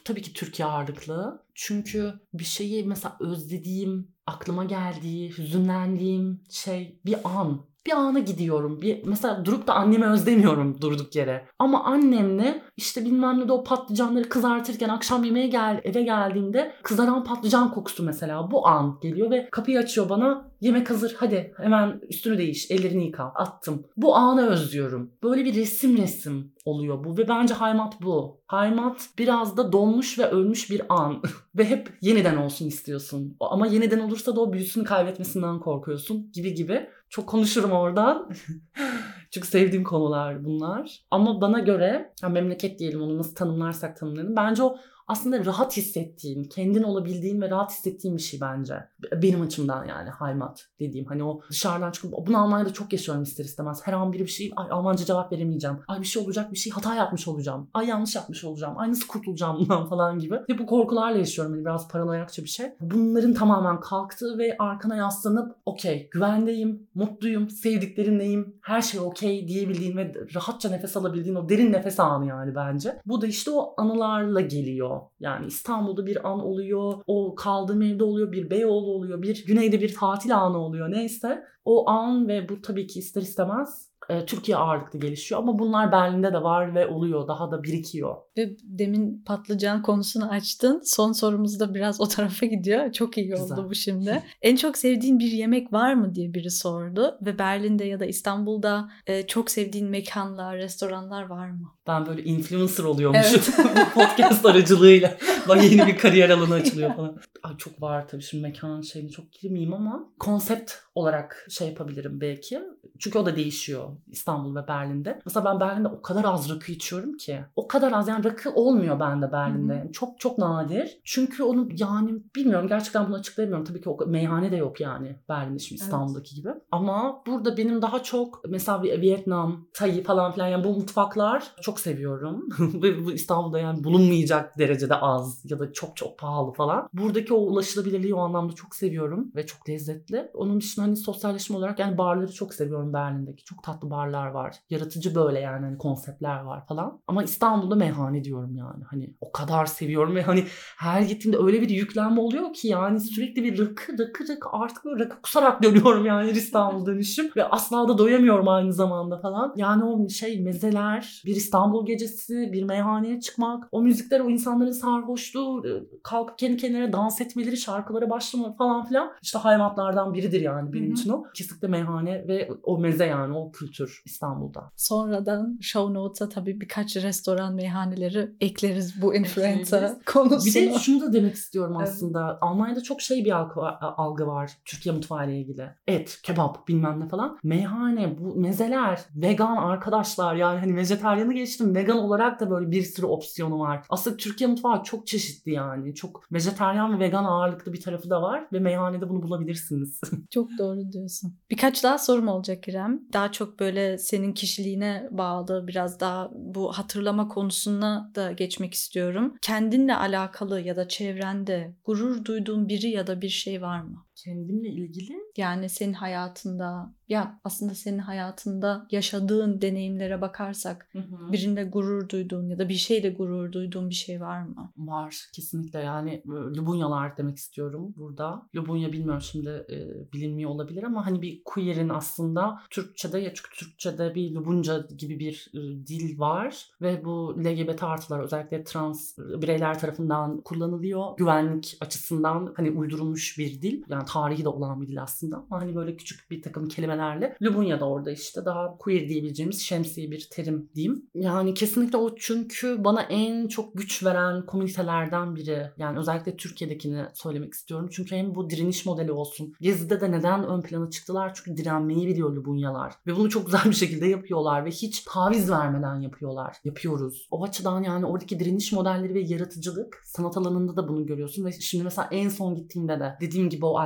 tabii ki Türkiye ağırlıklı. Çünkü bir şeyi mesela özlediğim, aklıma geldiği, hüzünlendiğim şey bir an. Bir ana gidiyorum. Mesela durup da annemi özlemiyorum durduk yere. Ama annemle işte bilmem ne de o patlıcanları kızartırken akşam yemeğe eve geldiğimde kızaran patlıcan kokusu mesela bu an geliyor ve kapıyı açıyor bana. Yemek hazır, hadi hemen üstünü değiş, ellerini yıka. Attım. Bu anı özlüyorum. Böyle bir resim oluyor bu ve bence Heimat bu. Heimat biraz da donmuş ve ölmüş bir an ve hep yeniden olsun istiyorsun. Ama yeniden olursa da o büyüsünü kaybetmesinden korkuyorsun gibi. Çok konuşurum oradan. Çünkü sevdiğim konular bunlar. Ama bana göre memleket diyelim, onu nasıl tanımlarsak tanımlayalım. Bence o aslında rahat hissettiğin, kendin olabildiğin ve rahat hissettiğin bir şey bence. Benim açımdan yani Heimat dediğim. Hani o dışarıdan çıkıp bunu Almanya'da çok yaşıyorum ister istemez. Her an bir şey, ay Almanca cevap veremeyeceğim. Ay bir şey olacak, bir şey hata yapmış olacağım. Ay yanlış yapmış olacağım. Ay nasıl kurtulacağım bundan falan gibi. Ve bu korkularla yaşıyorum. Yani biraz paranoyakça bir şey. Bunların tamamen kalktığı ve arkana yaslanıp okey, güvendeyim, mutluyum, sevdiklerimleyim, her şey okey diyebildiğin ve rahatça nefes alabildiğin o derin nefes anı yani bence. Bu da işte o anılarla geliyor. Yani İstanbul'da bir an oluyor, o kaldığım evde oluyor, bir Beyoğlu oluyor, bir güneyde bir tatil anı oluyor neyse. O an ve bu tabii ki ister istemez Türkiye ağırlıklı gelişiyor ama bunlar Berlin'de de var ve oluyor, daha da birikiyor. Ve demin patlıcan konusunu açtın. Son sorumuz da biraz o tarafa gidiyor. Çok iyi oldu Güzel. bu şimdi. En çok sevdiğin bir yemek var mı diye biri sordu. Ve Berlin'de ya da İstanbul'da çok sevdiğin mekanlar, restoranlar var mı? Ben böyle influencer oluyormuşum bu podcast aracılığıyla. Bak yeni bir kariyer alanı açılıyor falan. Ay çok var tabii, şimdi mekan şeyini çok girmeyeyim ama konsept olarak şey yapabilirim belki. Çünkü o da değişiyor İstanbul ve Berlin'de. Mesela ben Berlin'de o kadar az rakı içiyorum ki. O kadar az, yani rakı olmuyor bende Berlin'de. Yani çok çok nadir. Çünkü onu yani bilmiyorum, gerçekten bunu açıklayamıyorum. Tabii ki o meyhane de yok yani Berlin'de şimdi İstanbul'daki gibi. Ama burada benim daha çok mesela Vietnam, Tay falan filan, yani bu mutfaklar çok seviyorum. Ve bu İstanbul'da yani bulunmayacak derecede az ya da çok çok pahalı falan. Buradaki o ulaşılabilirliği o anlamda çok seviyorum ve çok lezzetli. Onun dışında hani sosyalleşme olarak yani barları çok seviyorum Berlin'deki. Çok tatlı barlar var. Yaratıcı böyle yani hani konseptler var falan. Ama İstanbul'da meyhane diyorum yani. Hani o kadar seviyorum ve hani her gittiğimde öyle bir yüklenme oluyor ki yani sürekli bir rakı artık böyle rakı kusarak dönüyorum yani İstanbul dönüşüm. Ve asla da doyamıyorum aynı zamanda falan. Yani o mezeler, bir İstanbul gecesi, bir meyhaneye çıkmak, o müzikler, o insanların sarhoşluğu, kalkıp kendi kendine dans etmeleri, şarkılara başlamaları falan filan. İşte hayatlardan biridir yani benim için o. Kesinlikle meyhane ve o meze, yani o kültür İstanbul'da. Sonradan show notes'a tabii birkaç restoran, meyhaneleri ekleriz bu influencer konusuna. Bir de şunu da demek istiyorum aslında. Evet. Almanya'da çok bir algı var Türkiye mutfağı ile ilgili. Et, kebap bilmem ne falan. Meyhane, bu mezeler, vegan arkadaşlar, yani hani vejetaryanı geçtim. Vegan olarak da böyle bir sürü opsiyonu var. Aslında Türkiye mutfağı çok çeşitli yani. Çok vejetaryen ve vegan ağırlıklı bir tarafı da var ve meyhanede bunu bulabilirsiniz. Çok doğru diyorsun. Birkaç daha sorum olacak İrem. Daha çok böyle senin kişiliğine bağlı, biraz daha bu hatırlama konusuna da geçmek istiyorum. Kendinle alakalı ya da çevrende gurur duyduğun biri ya da bir şey var mı? Kendimle ilgili? Yani senin hayatında, ya aslında senin hayatında yaşadığın deneyimlere bakarsak birinde gurur duyduğun ya da bir şeyle gurur duyduğun bir şey var mı? Var kesinlikle, yani Lubunyalar demek istiyorum burada. Lubunya bilmiyorum şimdi bilinmiyor olabilir ama hani bir queer'in aslında Türkçe'de, ya çünkü Türkçe'de bir Lubunca gibi bir dil var ve bu LGBT artılar, özellikle trans bireyler tarafından kullanılıyor. Güvenlik açısından hani uydurulmuş bir dil. Yani tarihi de olan bir dil aslında ama hani böyle küçük bir takım kelimelerle. Lubunya da orada işte daha queer diyebileceğimiz şemsiye bir terim diyeyim. Yani kesinlikle o, çünkü bana en çok güç veren komünitelerden biri. Yani özellikle Türkiye'dekini söylemek istiyorum. Çünkü hem bu direniş modeli olsun. Gezi'de de neden ön plana çıktılar? Çünkü direnmeyi biliyor Lubunyalar. Ve bunu çok güzel bir şekilde yapıyorlar ve hiç taviz vermeden yapıyoruz. O açıdan yani oradaki direniş modelleri ve yaratıcılık, sanat alanında da bunu görüyorsun ve şimdi mesela en son gittiğimde de dediğim gibi o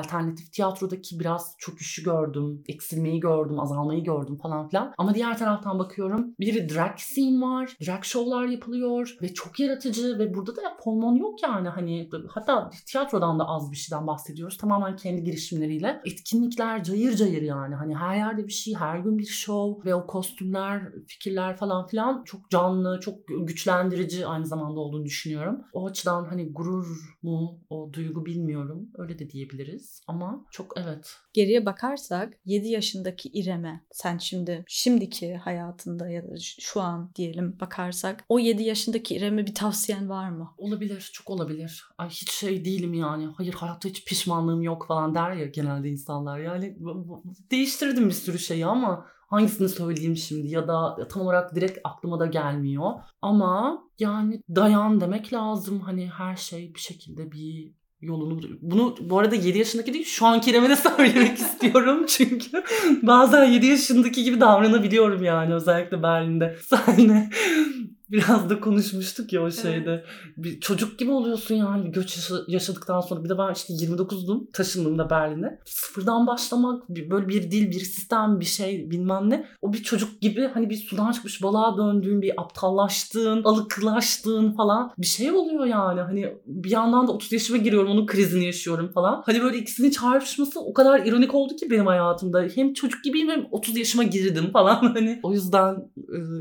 alternatif tiyatrodaki biraz çöküşü gördüm, eksilmeyi gördüm, azalmayı gördüm falan filan. Ama diğer taraftan bakıyorum, bir drag scene var, drag show'lar yapılıyor ve çok yaratıcı ve burada da fonmon yok yani. Hani hatta tiyatrodan da az bir şeyden bahsediyoruz. Tamamen kendi girişimleriyle. Etkinlikler cayır cayır yani. Hani her yerde bir şey, her gün bir show ve o kostümler, fikirler falan filan çok canlı, çok güçlendirici aynı zamanda olduğunu düşünüyorum. O açıdan hani gurur mu, o duygu bilmiyorum. Öyle de diyebiliriz ama çok evet. Geriye bakarsak 7 yaşındaki İrem'e sen şimdiki hayatında ya da şu an diyelim bakarsak o 7 yaşındaki İrem'e bir tavsiyen var mı? Olabilir, çok olabilir. Ay hiç şey değilim yani. Hayır hayatta hiç pişmanlığım yok falan der ya genelde insanlar. Yani değiştirdim bir sürü şeyi ama hangisini söyleyeyim şimdi ya da tam olarak direkt aklıma da gelmiyor. Ama yani dayan demek lazım. Hani her şey bir şekilde bir yolunu. Bunu bu arada 7 yaşındaki değil şu anki İrem'e de söylemek istiyorum. Çünkü bazen 7 yaşındaki gibi davranabiliyorum yani özellikle Berlin'de. Senle biraz da konuşmuştuk ya o şeyde. Evet. Bir çocuk gibi oluyorsun yani bir göç yaşadıktan sonra. Bir de ben işte 29'dum taşındım da Berlin'e. Sıfırdan başlamak böyle bir dil, bir sistem, bir şey bilmem ne. O bir çocuk gibi hani bir sudan çıkmış balığa döndüğün, bir aptallaştığın, alıklaştığın falan bir şey oluyor yani. Hani bir yandan da 30 yaşıma giriyorum onun krizini yaşıyorum falan. Hani böyle ikisinin çarpışması o kadar ironik oldu ki benim hayatımda. Hem çocuk gibiyim hem 30 yaşıma girdim falan hani. O yüzden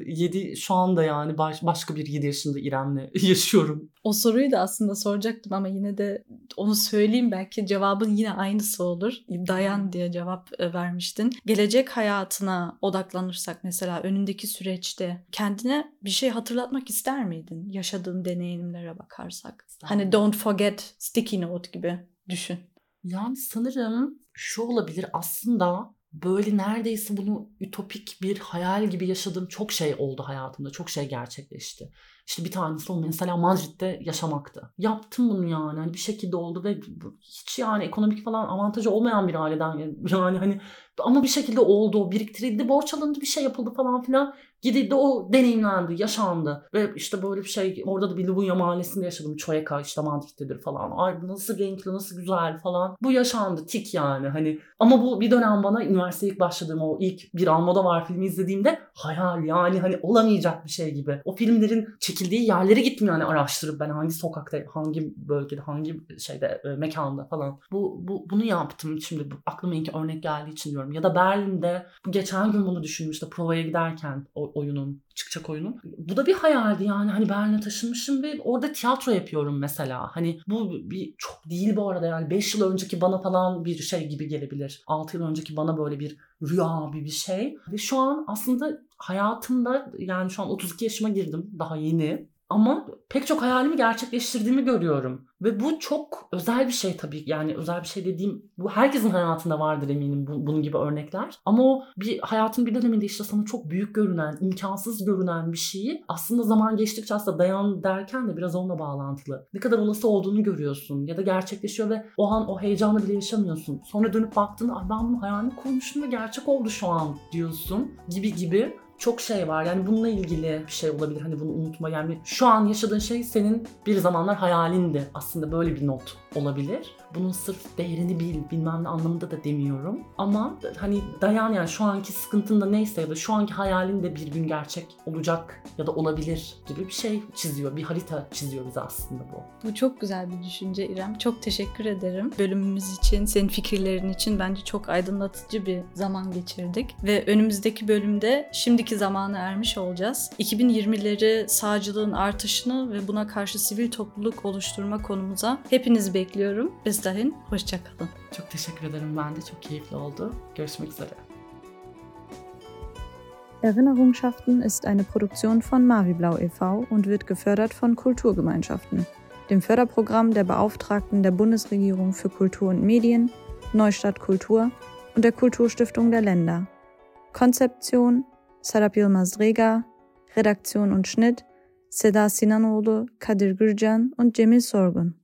7 şu anda yani başka bir 7 yaşında İrem'le yaşıyorum. O soruyu da aslında soracaktım ama yine de onu söyleyeyim belki cevabın yine aynısı olur. Dayan diye cevap vermiştin. Gelecek hayatına odaklanırsak mesela önündeki süreçte kendine bir şey hatırlatmak ister miydin? Yaşadığın deneyimlere bakarsak. Hani don't forget sticky note gibi düşün. Yani sanırım şu olabilir aslında böyle neredeyse bunu ütopik bir hayal gibi yaşadığım çok şey oldu hayatımda. Çok şey gerçekleşti. İşte bir tanesi o mesela Madrid'de yaşamaktı. Yaptım bunu yani. Hani bir şekilde oldu ve hiç yani ekonomik falan avantajı olmayan bir aileden yani hani ama bir şekilde oldu. O biriktirildi, borç alındı, bir şey yapıldı falan filan. Gidildi, o deneyimlendi, yaşandı. Ve işte böyle bir şey, orada da bir Lubunya mahallesinde yaşadım. Çoyeka işte Madrid'dedir falan. Ay nasıl renkli, nasıl güzel falan. Bu yaşandı, tik yani hani. Ama bu bir dönem bana üniversiteye ilk başladığım o ilk Bir Almodovar filmi izlediğimde hayal yani hani olamayacak bir şey gibi. O filmlerin çekildiği yerlere gittim yani araştırıp ben hangi sokakta, hangi bölgede, hangi şeyde, mekanda falan. Bunu yaptım şimdi aklıma ilk örnek geldiği için diyorum. Ya da Berlin'de geçen gün bunu düşünmüştüm provaya giderken oyunun, çıkacak oyunun. Bu da bir hayaldi yani hani Berlin'e taşınmışım ve orada tiyatro yapıyorum mesela. Hani bu bir çok değil bu arada yani 5 yıl önceki bana falan bir şey gibi gelebilir. 6 yıl önceki bana böyle bir rüya bir şey. Ve şu an aslında hayatımda yani şu an 32 yaşıma girdim daha yeni. Ama pek çok hayalimi gerçekleştirdiğimi görüyorum. Ve bu çok özel bir şey tabii. Yani özel bir şey dediğim bu herkesin hayatında vardır eminim bunun gibi örnekler. Ama o bir hayatın bir döneminde işte sana çok büyük görünen, imkansız görünen bir şeyi aslında zaman geçtikçe aslında dayan derken de biraz onunla bağlantılı. Ne kadar olası olduğunu görüyorsun ya da gerçekleşiyor ve o an o heyecanı bile yaşamıyorsun. Sonra dönüp baktığında ay ben bunun hayalini kurmuştum ve gerçek oldu şu an diyorsun gibi. Çok şey var yani bununla ilgili bir şey olabilir hani bunu unutma yani şu an yaşadığın şey senin bir zamanlar hayalindi aslında böyle bir not olabilir. Bunun sırf değerini bilmem ne anlamında da demiyorum ama hani dayan yani şu anki sıkıntın da neyse ya da şu anki hayalin de bir gün gerçek olacak ya da olabilir gibi bir şey çiziyor, bir harita çiziyor bize aslında bu. Bu çok güzel bir düşünce İrem. Çok teşekkür ederim bölümümüz için, senin fikirlerin için bence çok aydınlatıcı bir zaman geçirdik ve önümüzdeki bölümde şimdiki zamana ermiş olacağız. 2020'leri sağcılığın artışını ve buna karşı sivil topluluk oluşturma konumuza hepinizi bekliyorum. Bis dahin, hoşça kalın. Çok teşekkür ederim. Ben de çok keyifli oldu. Görüşmek üzere. Erinnerungschaften ist eine Produktion von Maviblau e.V. und wird gefördert von Kulturgemeinschaften, dem Förderprogramm der Beauftragten der Bundesregierung für Kultur und Medien, Neustadt Kultur und der Kulturstiftung der Länder. Konzeption Serap Yılmaz Rega, Redaktion und Schnitt Seda Sinanoğlu, Kadir Gürcan und Cemil Sorgun.